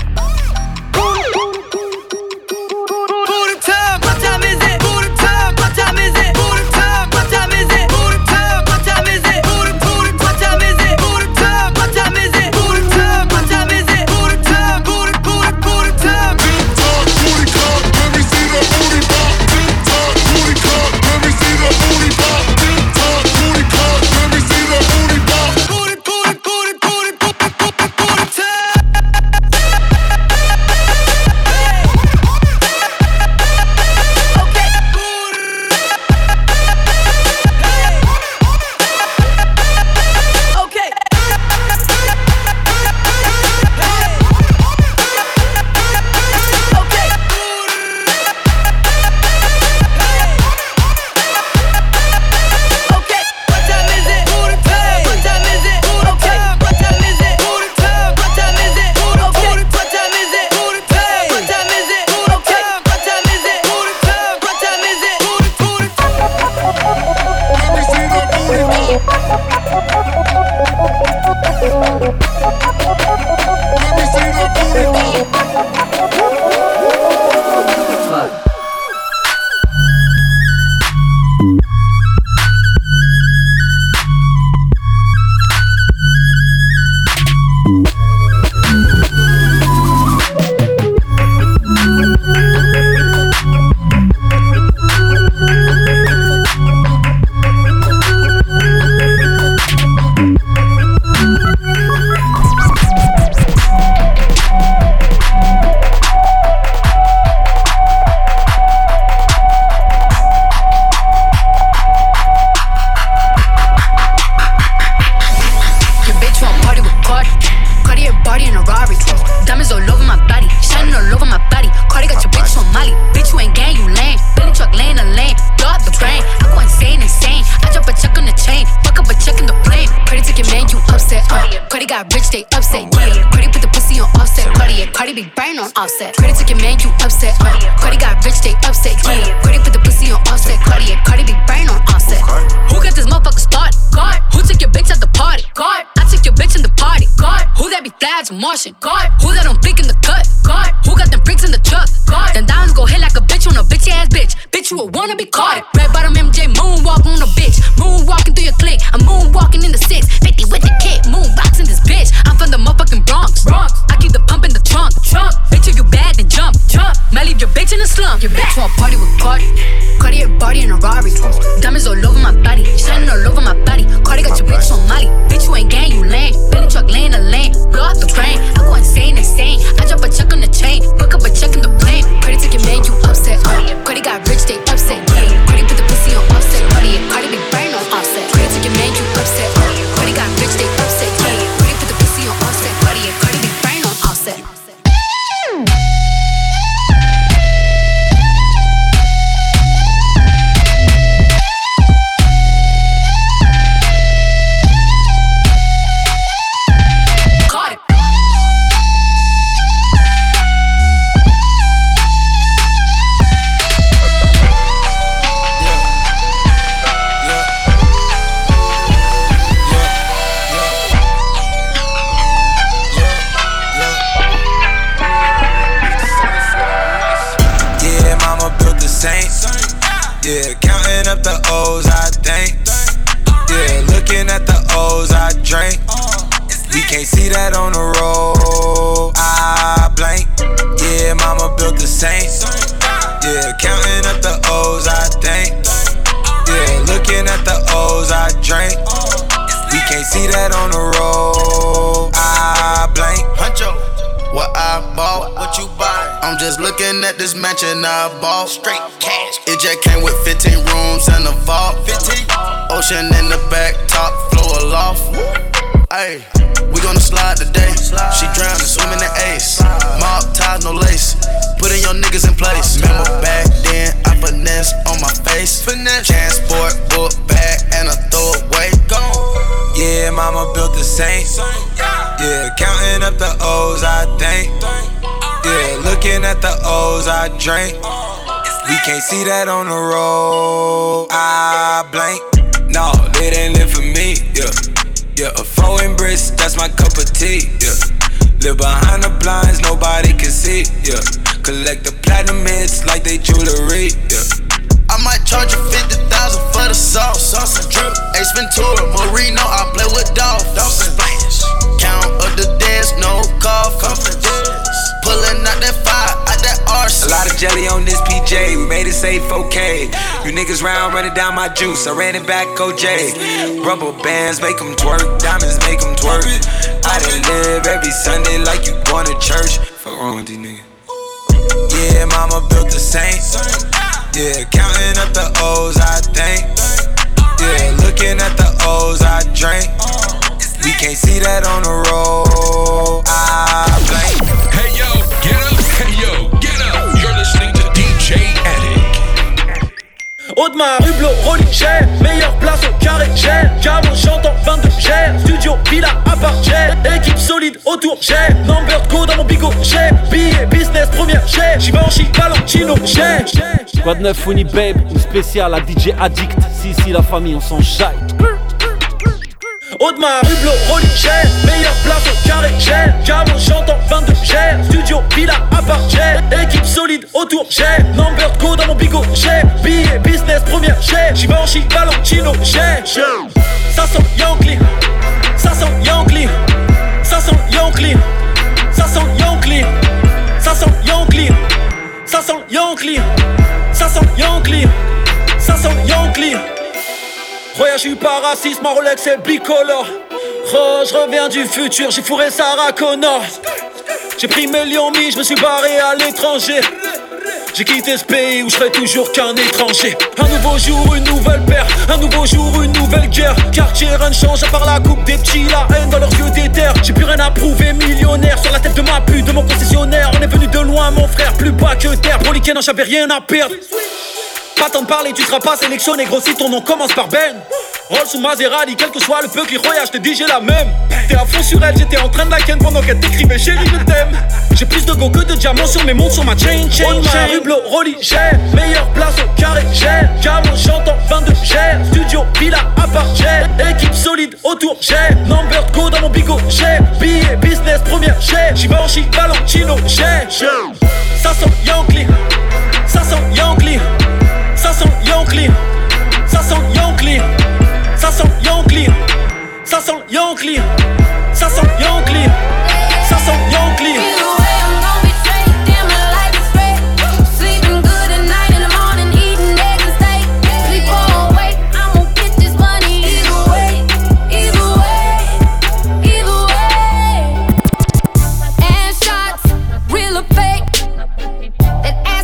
Booty time. What time is it? Booty time. What time is it? Booty time. What time is it? Booty time. What time is it? Booty booty. What time is it? Booty time. What time is it? Booty time. What time is it? Booty time. Booty booty booty time. Tick-tock, booty cock, let me see that booty pop. Tick-tock, booty cock, let me see that booty pop. Tick-tock, booty cock, let me see that booty pop. Booty booty booty booty booty time. Okay. Okay. What time is it? Booty time. What time is it? Booty time. What time is it? Booty time. What time is it? Booty time. What time is it? Booty time. What time is it? Booty time. What time is it? Booty time. What time is it? Booty booty. Let me see that booty pop. Let me see that booty pop. Your bitch want party with Cardi. Cardi a body in a Rari. Diamonds all over my body, shining all over my body. Cardi got your bitch on Molly. Bitch, you ain't gang, you lame. Billy truck laying a lane. Blow up the brain. I go insane, insane. I drop a check on the chain. Fuck up a check in the plane. Cardi took your man, you upset. Cardi got rich, they upset. Yeah. Cardi put the pussy on offset. Cardi, yeah. Cardi big brain on offset. Cardi took your man, you upset. Cardi got rich, they upset. Yeah. Cardi put the pussy on offset. Cardi, yeah. Cardi big brain on offset. Who got this motherfucker started? God. Who took your bitch at the party? God. I took your bitch in the party. God. Who that be fly as a Martian? God. Who that don't blink in the cut? God. Who got them bricks in the truck? God. Then diamonds go hit like a bitch on a bitch ass bitch. Bitch, you a wanna be caught. Red bottom MJ moonwalk on a bitch. Moonwalking through your clique. I'm moonwalking in the 6. 50 with the kick. Moonboxing this bitch. I'm from the motherfucking Bronx. I keep the pump in the trunk. Bitch, if you bad, then jump. Might leave your bitch in the slump. Your bitch want party with Cardi. Cardi a body in a Rari. Diamonds all over my body. Shining all over my body. Cardi got your bitch on Molly. Bitch, you ain't gang, you lame. Billy truck laying a lane. Blow out the brain. I go insane, insane. I drop a check on the chain. Fuck up a check can't see that on the road. I blank. Yeah, mama built the Saints. Yeah, counting up the O's, I think. Yeah, looking at the O's, I drink. We can't see that on the road. I blank. Huncho, what I bought, what you buy? I'm just looking at this mansion I bought. Straight cash. It just came with 15 rooms and a vault. 15. Ocean in the back, top floor aloft. Ayy, we gonna slide today. She drowning, swimming in ace. Mob ties, no lace. Putting your niggas in place. Remember back then, I finesse on my face. Transport, book bag, and a throwaway. Gone. Yeah, mama built the Saints. Yeah, counting up the O's, I think. Yeah, looking at the O's, I drink. We can't see that on the road. I blank. No, they didn't live for me. Yeah, yeah, a foreign brisk, that's my cup of tea. Yeah, live behind the blinds, nobody can see. Yeah, collect the platinum hits like they jewelry. Yeah. I might charge you 50,000 for the sauce. Sauce and drip. Ace Ventura, Marino, I play with dolphins. Splash. Count up the dance, no coffin. Pulling out that fire, out that arse. A lot of jelly on this PJ, we made it safe, okay. You niggas round running down my juice, I ran it back, OJ. Rubber bands make them twerk, diamonds make them twerk. I done live every Sunday like you going to church. Fuck wrong with these niggas. Yeah, mama built the Saints. Yeah, counting up the O's, I think. Yeah, looking at the O's, I drink. We can't see that on the road. I blank. Hey yo, get up, hey yo, get up. You're listening to DJ Attic. Audemars, Hublot, Rolly, cher. Meilleure place au carré, cher. Camo, j'entends 22, cher. Studio, villa, appart, cher. Équipe solide autour, cher. Number go dans mon bigot, cher. Billet, business, première, cher. Givenchy, Valentino, cher. Squad 9, Funny Babe, une spéciale à DJ Addict. Si, la famille, on s'en jaille. Audemars, Hublot, Rolly, cher. Meilleure place au carré, cher. Camo, j'entends 22, cher. Studio, villa, appart, cher. Équipe solide autour, cher. Number go dans mon bigot, cher. Billet, business, première, cher. Givenchy, Valentino, cher. Ça sent Yankee. Ça sent Yankee. Ça sent Yankee. Ça sent Yankee. Ça sent Yankee. Ça sent Yankee. Ça sent Yankee. Ça sent Yankee. Voyage, je suis pas raciste, ma Rolex est bicolore. Oh, je reviens du futur, j'ai fourré Sarah Connor. J'ai pris mes lions mis, je me suis barré à l'étranger. J'ai quitté ce pays où je serai toujours qu'un étranger. Un nouveau jour, une nouvelle paire. Un nouveau jour, une nouvelle guerre. Quartier, rien ne change à part la coupe des petits. La haine dans leurs yeux d'éther. J'ai plus rien à prouver, millionnaire. Sur la tête de ma pute, de mon concessionnaire. On est venu de loin, mon frère, plus bas que terre. Pour les non, j'avais rien à perdre. Pas tant de parler, tu seras pas sélectionné. Gros, si ton nom commence par Ben. Rolls ou Maserati, quel que soit le peu qui roya, je te dis j'ai la même. T'es à fond sur elle, j'étais en train de la ken pendant qu'elle t'écrivait chérie je t'aime. J'ai plus de go que de diamants sur mes montres, sur ma chain. Audemars, Hublot, Rolly, cher. Meilleure place au carré, cher. Camo, j'entends 22, cher. Studio, villa, appart, cher. Équipe solide autour, cher. Number go dans mon bigot, cher. Billet, business, première, cher. Givenchy, Valentino, cher. Ça sent Yankee. Ça sent Yankee. Ça sent Yankee. Ça sent Yankee. Ça sent Yankee. Ça sent Yankee. Ça sent Yankee. Ça sent Yankee. That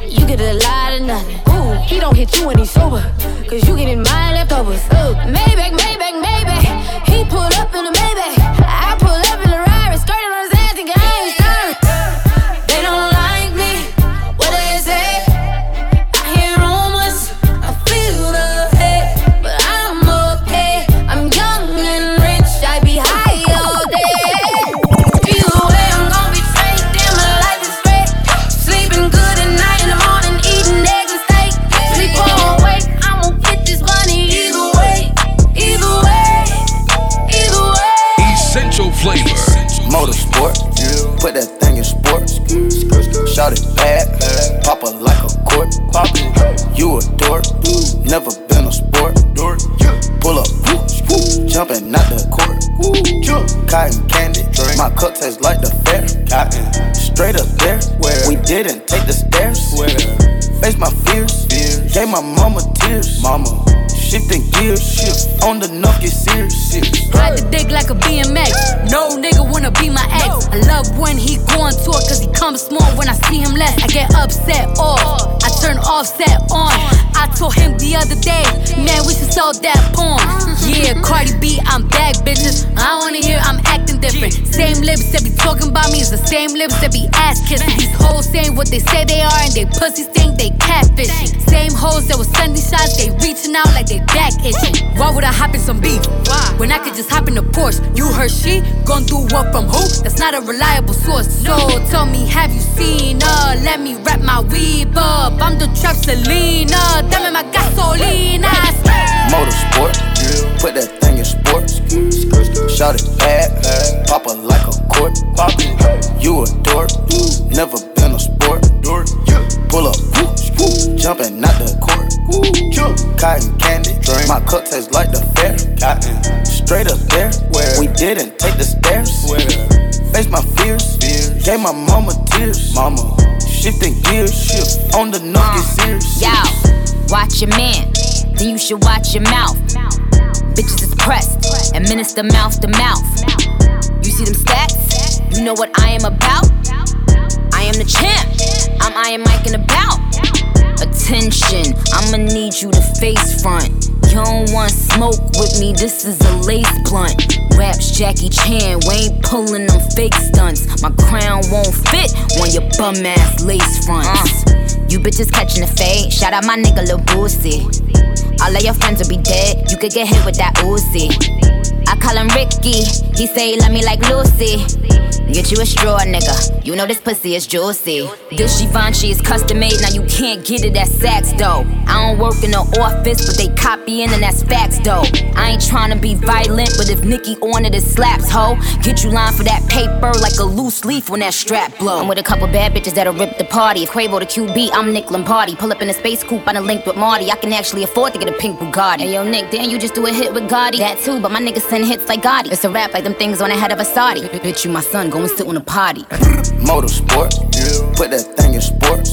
you get a lot of nothing. Ooh, he don't hit you when he's sober, cause you getting my leftovers. Ooh, Maybach, Maybach, Maybach. He pull up in a Maybach. I pull up in a Rari, skirting on his ass, thinking I ain't sorry. They don't like me, what they say. I hear rumors, I feel the hate, but I'm okay. I'm young and rich, I be high all day. Either way, I'm gon' be straight, damn my life is straight. Sleeping good at night, in the morning eating eggs and steak. Sleep on wait, I'ma get this money either way, either way, either way. Essential flavor. Motorsport, put that thing in sports. Shout it bad, pop it like a court. You a dork, never been a sport. Pull up, jumping out the court. Cotton candy, my cup tastes like the fair. Straight up there, we didn't take the stairs. Face my fears, gave my mama tears. Shifting gears, on the nuff, get serious. Ride the dick like a BMX. No nigga wanna be my ex. I love when he go on tour, cause he comes small. When I see him less, I get upset off. I turn Offset on. I told him the other day, man, we should sell that porn. Yeah, Cardi B, I'm back, bitches. I wanna hear I'm acting different. Same lips that be talking about me is the same lips that be ass kissing. These hoes saying what they say they are, and they pussies think they catfishing. Same hoes that was sending shots, they reaching out like they back itching. Why would I hop in some beef? When I could just hop in the Porsche. You heard she gon' do what from who? That's not a reliable source. So tell me, have you seen her? Let me wrap my weave up. I'm the trap Selena. Dame my gasolina. Motorsport, put that thing in sports. Shout it bad, pop it like a court. You a dork, never been a sport. Pull up, jumping out the court. Cotton candy, my cup tastes like the fair. Straight up there, we didn't take the stairs. Face my fears, gave my mama tears. Shifting gears, on the nuff, get serious. Yo, watch your man, then you should watch your mouth. Bitches is pressed, administer mouth to mouth. You see them stats? You know what I am about? I am the champ, I'm Iron Mike and about. Attention, I'ma need you to face front. You don't want smoke with me, this is a lace blunt. Raps Jackie Chan, we ain't pulling them fake stunts. My crown won't fit on your bum ass lace fronts. You bitches catching the fade, shout out my nigga Lil Boosie. All of your friends will be dead, you could get hit with that Uzi. I call him Ricky, he say he love me like Lucy. Get you a straw, nigga, you know this pussy is juicy. This Givenchy is custom made, now you can't get it at Saks though. I don't work in the office, but they copying and that's facts though. I ain't tryna be violent, but if Nicki on it, it slaps, ho. Get you line for that paper like a loose leaf when that strap blow. I'm with a couple bad bitches that'll rip the party. If Quavo the QB, I'm Nick Lombardi. Pull up in a space coupe, I done linked with Marty. I can actually afford to get a pink Bugatti. Hey yo Nick, damn you just do a hit with Gotti. That too, but my niggas send hits like Gotti. It's a rap like them things on the head of a Saudi. Bitch, you my son, go and sit on a potty. Motorsport, put that thing in sports.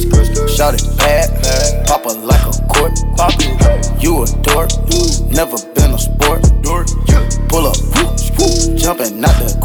Shout it bad, pop it like a court. You a dork, never been a sport. Pull up, jumping out the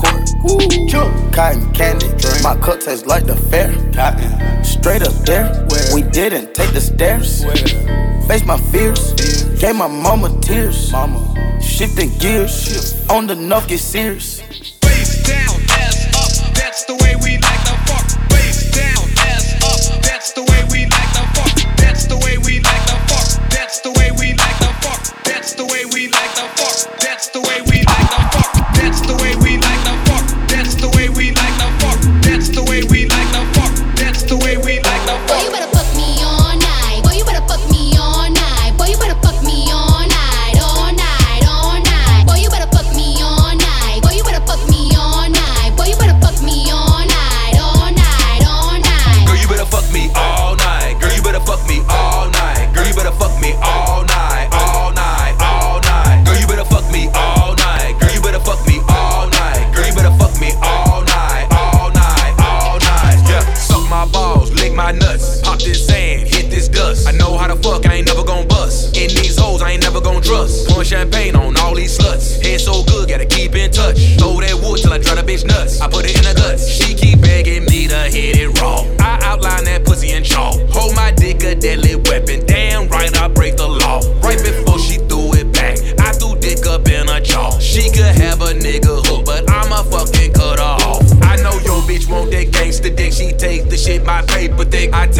court. Cotton candy, my cup tastes like the fair. Straight up there, we didn't take the stairs. Face my fears, gave my mama tears. Shifting gears, on the nuff, get serious. Face down, ass up, that's the way we like to fuck. Face down, ass up, that's the way we like to fuck. That's the way we like to fuck. That's the way we like to fuck. That's the way we like to fuck. That's the way we like to fuck. That's the way we like to fuck. That's the way we like to fuck. That's the way we like to fuck. That's the way we like to fuck. Boy, you better fuck me all night. Boy, you better fuck me all night. Boy, you better fuck me all night, all night, all night. Boy, you better fuck me all night. Boy, you better fuck me all night. Boy, you better fuck me all night, all night, all night. Girl, you better fuck me all night. Girl, you better fuck me all night. Girl, you better fuck me all night, all night, all night. Girl, you better fuck me all night. Girl, you better fuck me all night. Girl, you better fuck me all night, all night, all night. Yeah, suck my balls, lick my nuts, pop this sand, hit this dust. I know how to fuck, I ain't never gon' bust. In these hoes, I ain't never gon' trust. Pouring champagne on all these sluts. Head so good, gotta keep in touch. Throw that wood till I dry the bitch nuts. I put it in the guts. She keep begging me to hit it raw. I outline that pussy in chalk.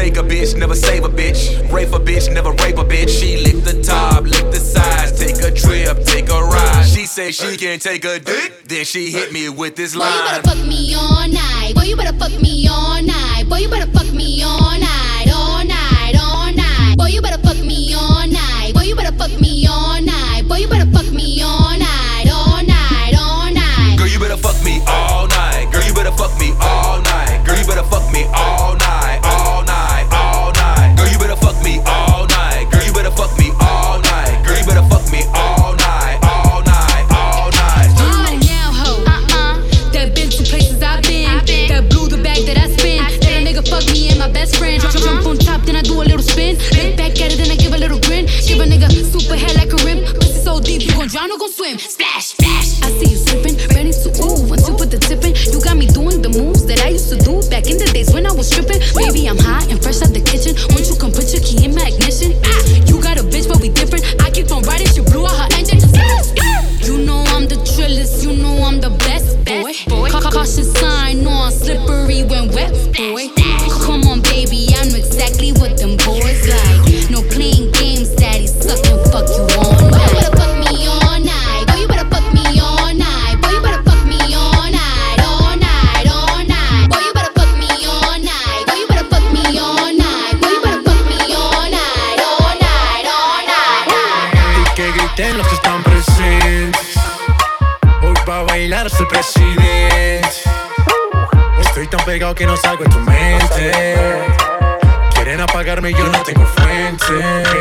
make a bitch, never save a bitch. Rape a bitch, never rape a bitch. She lick the top, lick the sides, take a trip, take a ride. She say she can take a dick, then she hit me with this line. Boy, you better fuck me all night. Boy, you better fuck me all night. Boy, you better fuck me all night, all night, all night. Boy, you better fuck me all night. Boy, you better fuck me all night. Boy, you better fuck me all night, all night, all night. Girl, you better fuck me all night. Girl, you better fuck me all night. Girl, you better fuck me all night, all night, all night. Girl, you better fuck me all night. Girl, you better fuck me all night. Girl, you better fuck me all night, all night, all night. You now, ho. That been to places I've been. That blew the bag that I spin. That a nigga fuck me and my best friend. Jump on top, then I do a little spin. Look back at it, then I give a little grin. Give a nigga super head like a rim. Pussy so deep, you gon' drown or gon' swim. Splash, splash. I see you slipping, ready to ooh. Once you put the tip in, you got me doing the moves that I used to do back in the days when I was stripping. Baby, I'm hot and fresh out the kitchen. Won't you come put your key in my ignition? You got a bitch, but we different. I keep on riding, she blew out her engine. You know I'm the trillest, you know I'm the best, boy. Caution sign on, slippery when wet, boy. Come on, baby, I know exactly what them boys like. No playing games, daddy, suck and fuck you all night. Boy, you better fuck me all night. Boy, you better fuck me all night. Boy, you better fuck me all night, all night, all night. Boy, you better fuck me all night. Boy, you better fuck me all night. Boy, you better fuck me all night, all night, all night. Y que griten los que están presentes. Hoy pa' bailar hasta el presidente. Estoy tan pegado que no salgo en tu mente. Quieren apagarme y yo no tengo fuente.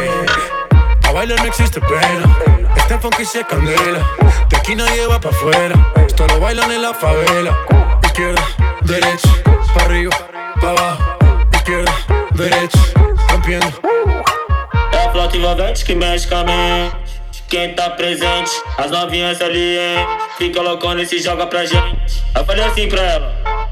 A bailar no existe pena. Este funky se candela. De aquí nadie va pa' afuera. Esto lo bailan en la favela. Izquierda, derecha, pa' arriba, pa' abajo. Izquierda, derecha, rompiendo. É a flauta envolvente que mexe com a mente. Quem tá presente, as novinhas ali, hein? Fica loucona e se joga pra gente. Eu falei assim pra ela.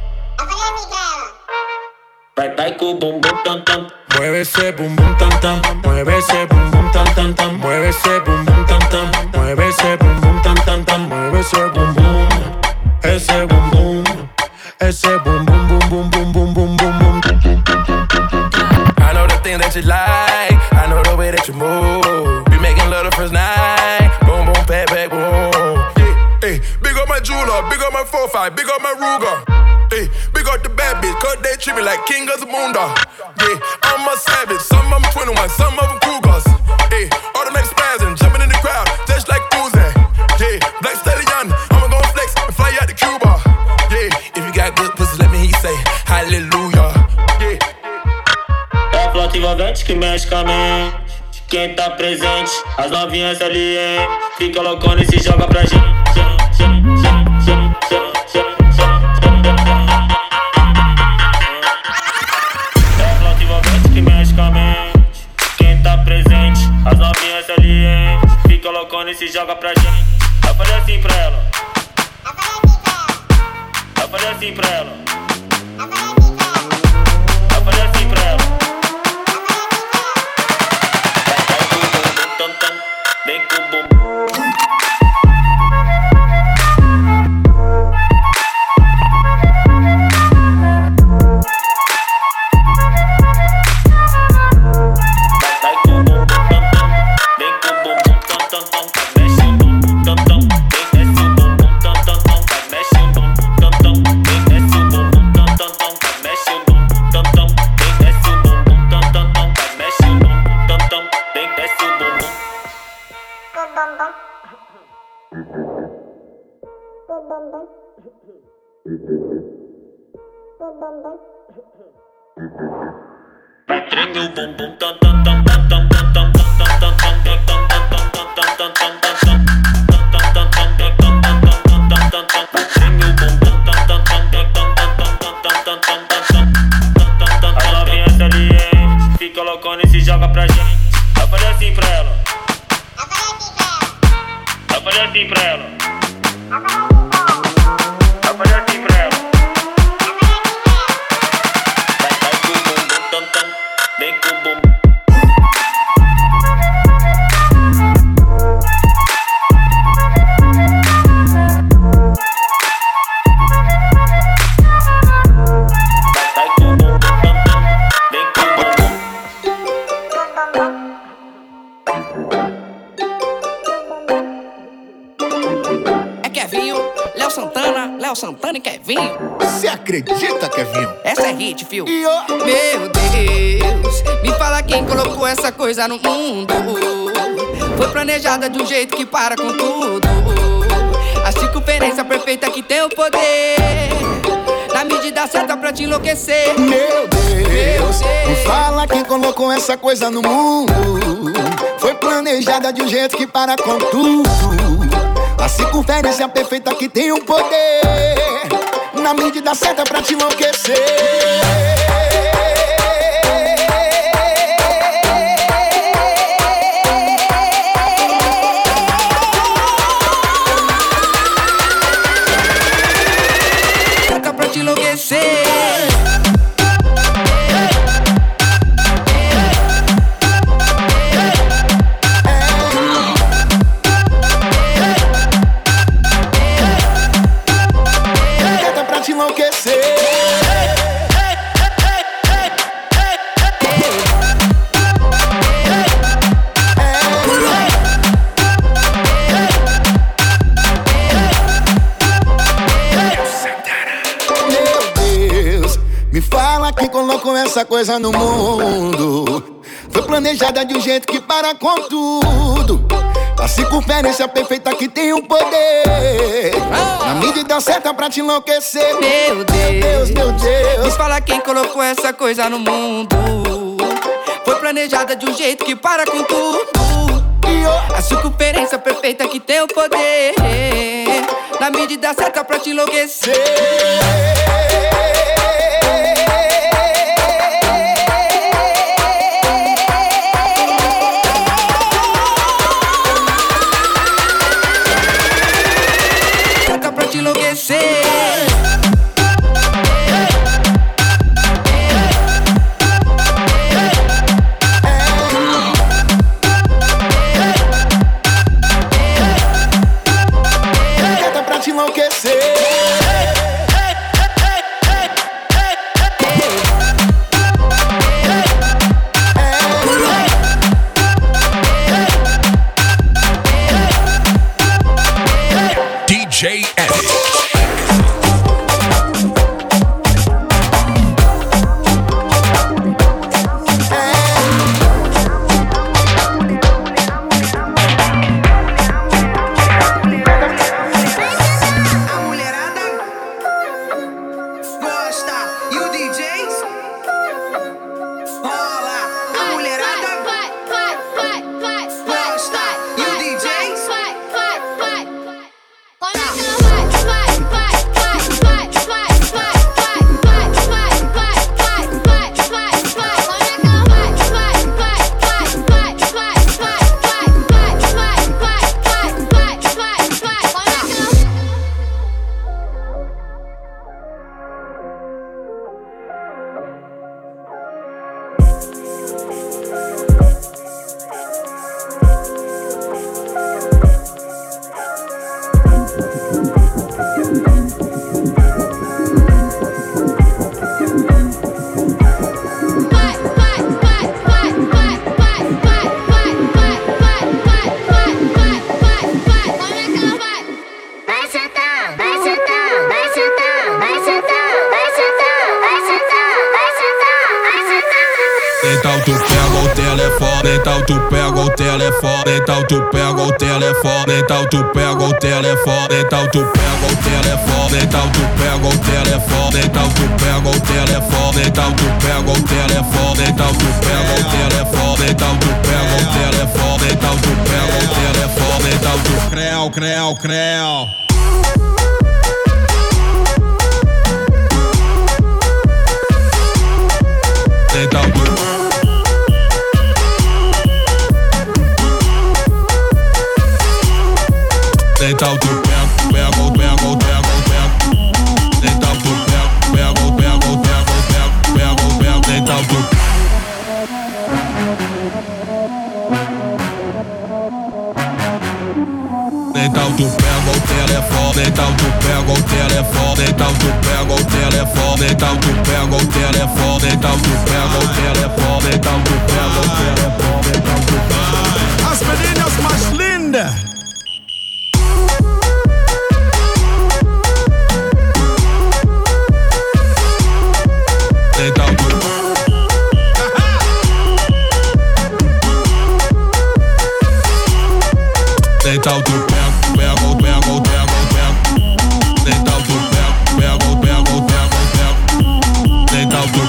Vai com o bumbum tam tam. Mueve ese bum bum tam tam. Mueve ese bum bum tam tam tam. Mueve ese bum bum tam tam. Mueve ese bum bum tam tam tam. Mueve ese bum bum. Ese bum bum. Ese bum bum bum bum bum bum bum bum bum. I know the thing that you like. I know the way that you move. Be making love the first night. Boom boom pat pat boom. Hey, big up my jeweler, big up my 4-5, big up my Ruger. Hey, big up the bad bitch, cause they treat me like king of the moondog. Yeah, I'm a savage, some of them 21, some of them Cougars. Hey, automatic spazzing, jumping in the crowd, just like Uzi. Yeah, Black Stallion, I'ma go flex and fly out to Cuba. Yeah, if you got good pussy, let me hear you say hallelujah. Yeah. É a flauta envolvente que mexe com a mente. Quem tá presente, as novinhas ali, hein? Fica loucona e se joga pra gente. É a flauta envolvente que mexe com a mente. Quem tá presente, as novinhas ali, hein? Fica loucona e se joga pra gente. Eu falei assim pra ela. Eu falei assim pra ela. Eu falei assim pra ela. Vem com o bumbum. Vai treme o bumbum tam tam tam tam tam tam tam tam tam tam tam as novinhas ali, hein? Fica loucona e se joga pra gente. Eu falei assim pra ela. Eu falei assim pra ela. Eu falei assim pra ela. Vai com o bumbum tam tam. Vem com o bumbum. Léo Santana e Kevinho. Você acredita, Kevinho? Essa é hit, fio. Meu Deus, me fala quem colocou essa coisa no mundo. Foi planejada de um jeito que para com tudo. A circunferência perfeita que tem o poder, na medida certa pra te enlouquecer. Meu Deus, me fala quem colocou essa coisa no mundo. Foi planejada de um jeito que para com tudo. A circunferência perfeita que tem o poder, na medida certa pra te enlouquecer. Colocou essa coisa no mundo. Foi planejada de um jeito que para com tudo. A circunferência perfeita que tem o poder, na medida certa pra te enlouquecer. Meu Deus, meu Deus, me fala quem colocou essa coisa no mundo. Foi planejada de um jeito que para com tudo. A circunferência perfeita que tem o poder, na medida certa pra te enlouquecer. Então tu pega o telefone, então tu pega o telefone, então tu pega o telefone, então tu pega o telefone, então tu pega o telefone, então tu pega o telefone, então tu pega o telefone, então tu pega o telefone, então tu pega o telefone, então tu pega o telefone, então tu pega o telefone, então tu creu, creu, creu. Então tu então tu pega o então tu pega o então tu então tu pega o telefone, então tu pega o telefone, então tu pega o telefone, então tu pega o telefone, então tu pega o telefone, então tu pega o telefone, então tu pega. As meninas mais lindas. Então tu pega, então tu pega, então tu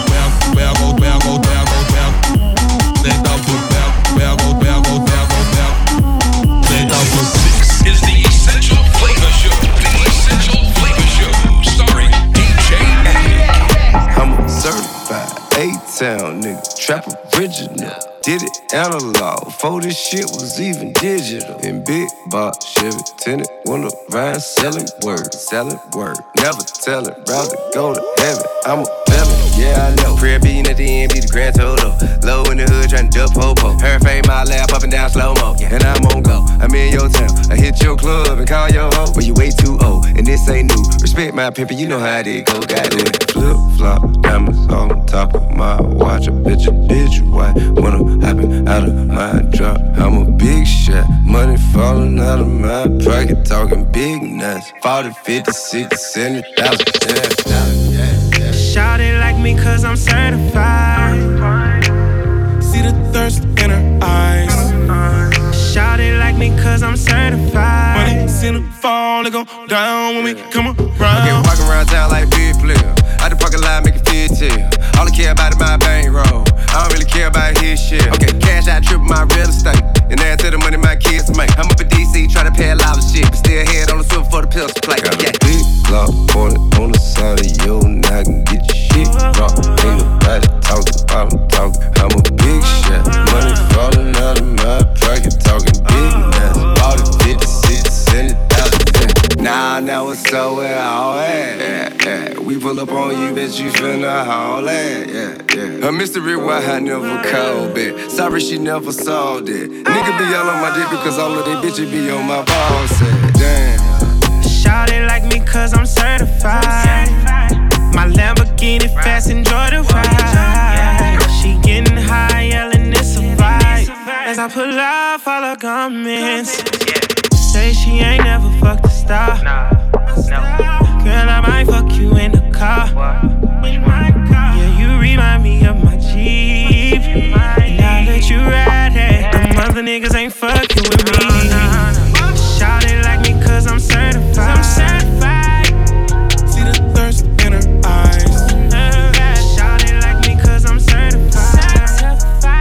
This is the Essential Flavor Show. The Essential Flavor Show, starring DJ Attic. I'm a certified A-Town nigga, trap original. Did it analog, before this shit was even digital. In big box, Chevy, tinted, window, rhyme, selling word. Never tell it, rather go to heaven. I'm a felon, yeah I know. Prayer beating at the end, be the grand total. Low in the hood, trying to duck po-po. Her fame, my lap, up and down slow-mo. And I'm on go, I'm in your town. I hit your club and call your hoe. But you way too old, and this ain't new. Respect my pimpin', you know how it go. Got it. Flip-flop, diamonds on top of my watch. A bitch, why? When I'm hopping out of my drop, I'm a big shot. Money falling out of my pocket, talking big nuts. 40, 50, 60, 70,000. Shout it like me cause I'm certified. See the thirst in her eyes. Shout it like me cause I'm certified. Money seen her fall, it go down when we come around. I get walking around town like big player. Out the parking lot, make it fit to you. All I care about is my bankroll. I don't really care about his shit. Okay, cash out, triple my real estate. And add to the money my kids make. I'm up in DC, try to pay a lot of shit. But still head on the swivel for the pills to play. Got a big block on the side of your knock and get your shit dropped. Ain't nobody talking about I'm talking. I'm a big shot. Money falling out of my pocket, talking big nuts. All the 50, 60, 70,000. Now it's so where all at. We pull up on you, bitch, you finna haul that. A mystery why I never called it. Sorry she never saw that. Nigga be all on my dick because all of they bitches be on my balls. Damn. Shout it like me cause I'm certified. My Lamborghini fast, enjoy the ride. She getting high, yelling it's a vibe. As I pull up all her comments. Say she ain't never fucked a star. Girl, I might fuck you in the car. Yeah, you remind me of my Jeep. Now that you ride it, them other niggas ain't fucking with me. Shout it like me cause I'm certified. See the thirst in her eyes. Shout it like me cause I'm certified.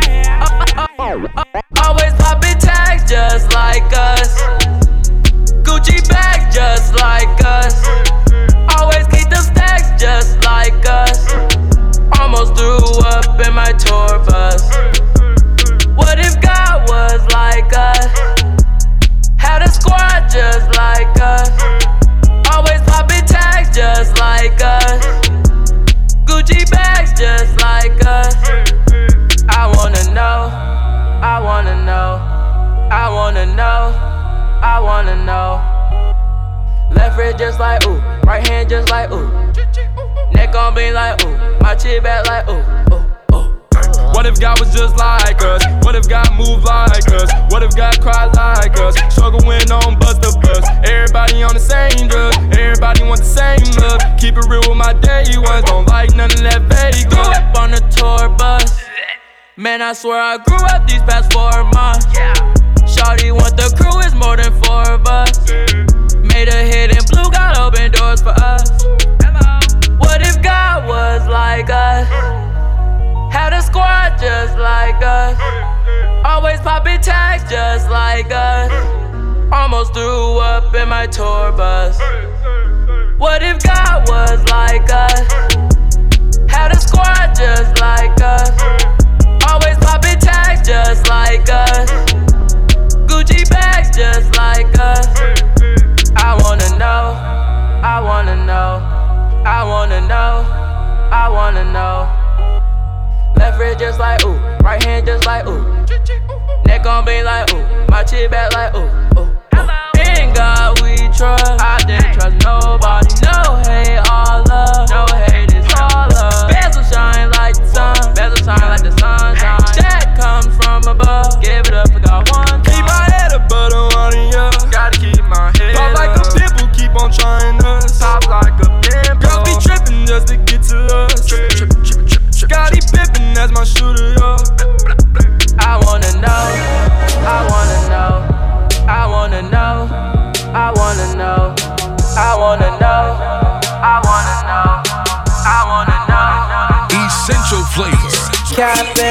Always poppin' tags just like us. Gucci bags just like us. Always keep them stacks just like us. Almost threw up in my tour bus. What if God was like us? Had a squad just like us. Always poppin' tags just like us. Gucci bags just like us. I wanna know, I wanna know, I wanna know, I wanna know. Left wrist just like ooh, right hand just like ooh. Neck on me like ooh, my chin back like ooh, ooh, ooh. What if God was just like us? What if God moved like us? What if God cried like us? Struggling on bus to bus. Everybody on the same drug. Everybody want the same love. Keep it real with my day ones. Don't like none of that Vegas. Grew up on the tour bus. Man, I swear I grew up these past 4 months. Shawty want the crew, is more than 4 of us. Made a hit and blue, got open doors for us. What if God was like us? Had a squad just like us. Always poppin' tags just like us. Almost threw up in my tour bus. What if God was like us? Had a squad just like us. Always poppin' tags just like us. Gucci bags just like us. I wanna know, I wanna know, I wanna know, I wanna know. Left wrist just like ooh, right hand just like ooh. Neck on me like ooh, my chin back like ooh, ooh. In God we trust, I didn't trust nobody. No hate, all love, no hate, it's all love. Bezel shine like the sun, bezel shine like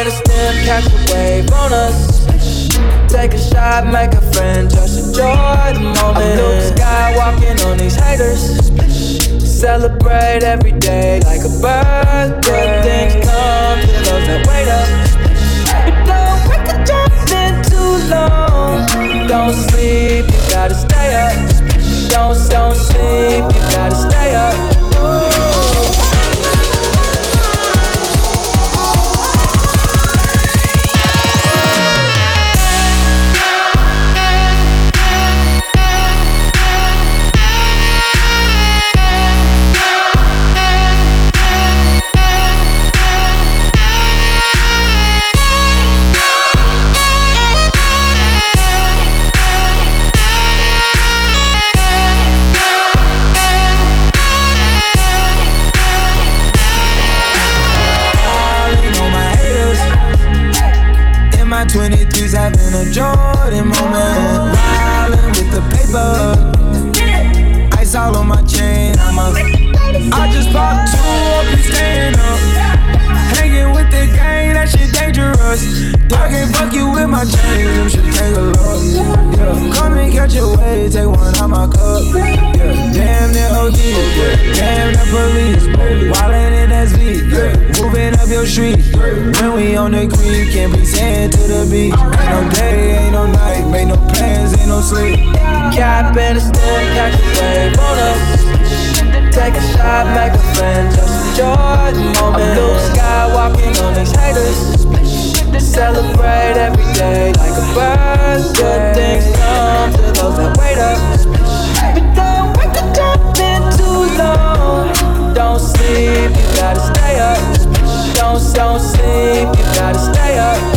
in a stem, catch a wave on us. Take a shot, make a friend, just enjoy the moment. I'm Luke Skywalking on these haters. Celebrate every day like a birthday. Good things come to those that wait up. But don't wait to jump in too long. Don't sleep, you gotta stay up. Don't sleep, you gotta stay up. My 23's having a Jordan moment. Wildin' with the paper. Ice all on my chain. I just popped 2 up and staying up. Hanging with the gang, that shit dangerous. I can't fuck you with my chain, you should take a look. Yeah. Come and catch a wave, take one out my cup. Yeah. Damn the OG, yeah. Damn the police. Wildin' in SV, yeah. Moving up your street. When we on the creek, can't be saying to the beach. Ain't no day, ain't no night, make no plans, ain't no sleep. Cap and a stem, catch a wave on us. Take a shot, make a friend, just enjoy the moment. I'm Luke Skywalking on these haters. Celebrate every day like a birthday. Good things come to those that wait up. But don't wait to jump in too long. Don't sleep, you gotta stay up. Don't sleep, you gotta stay up.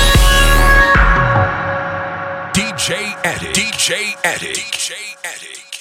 DJ Addict.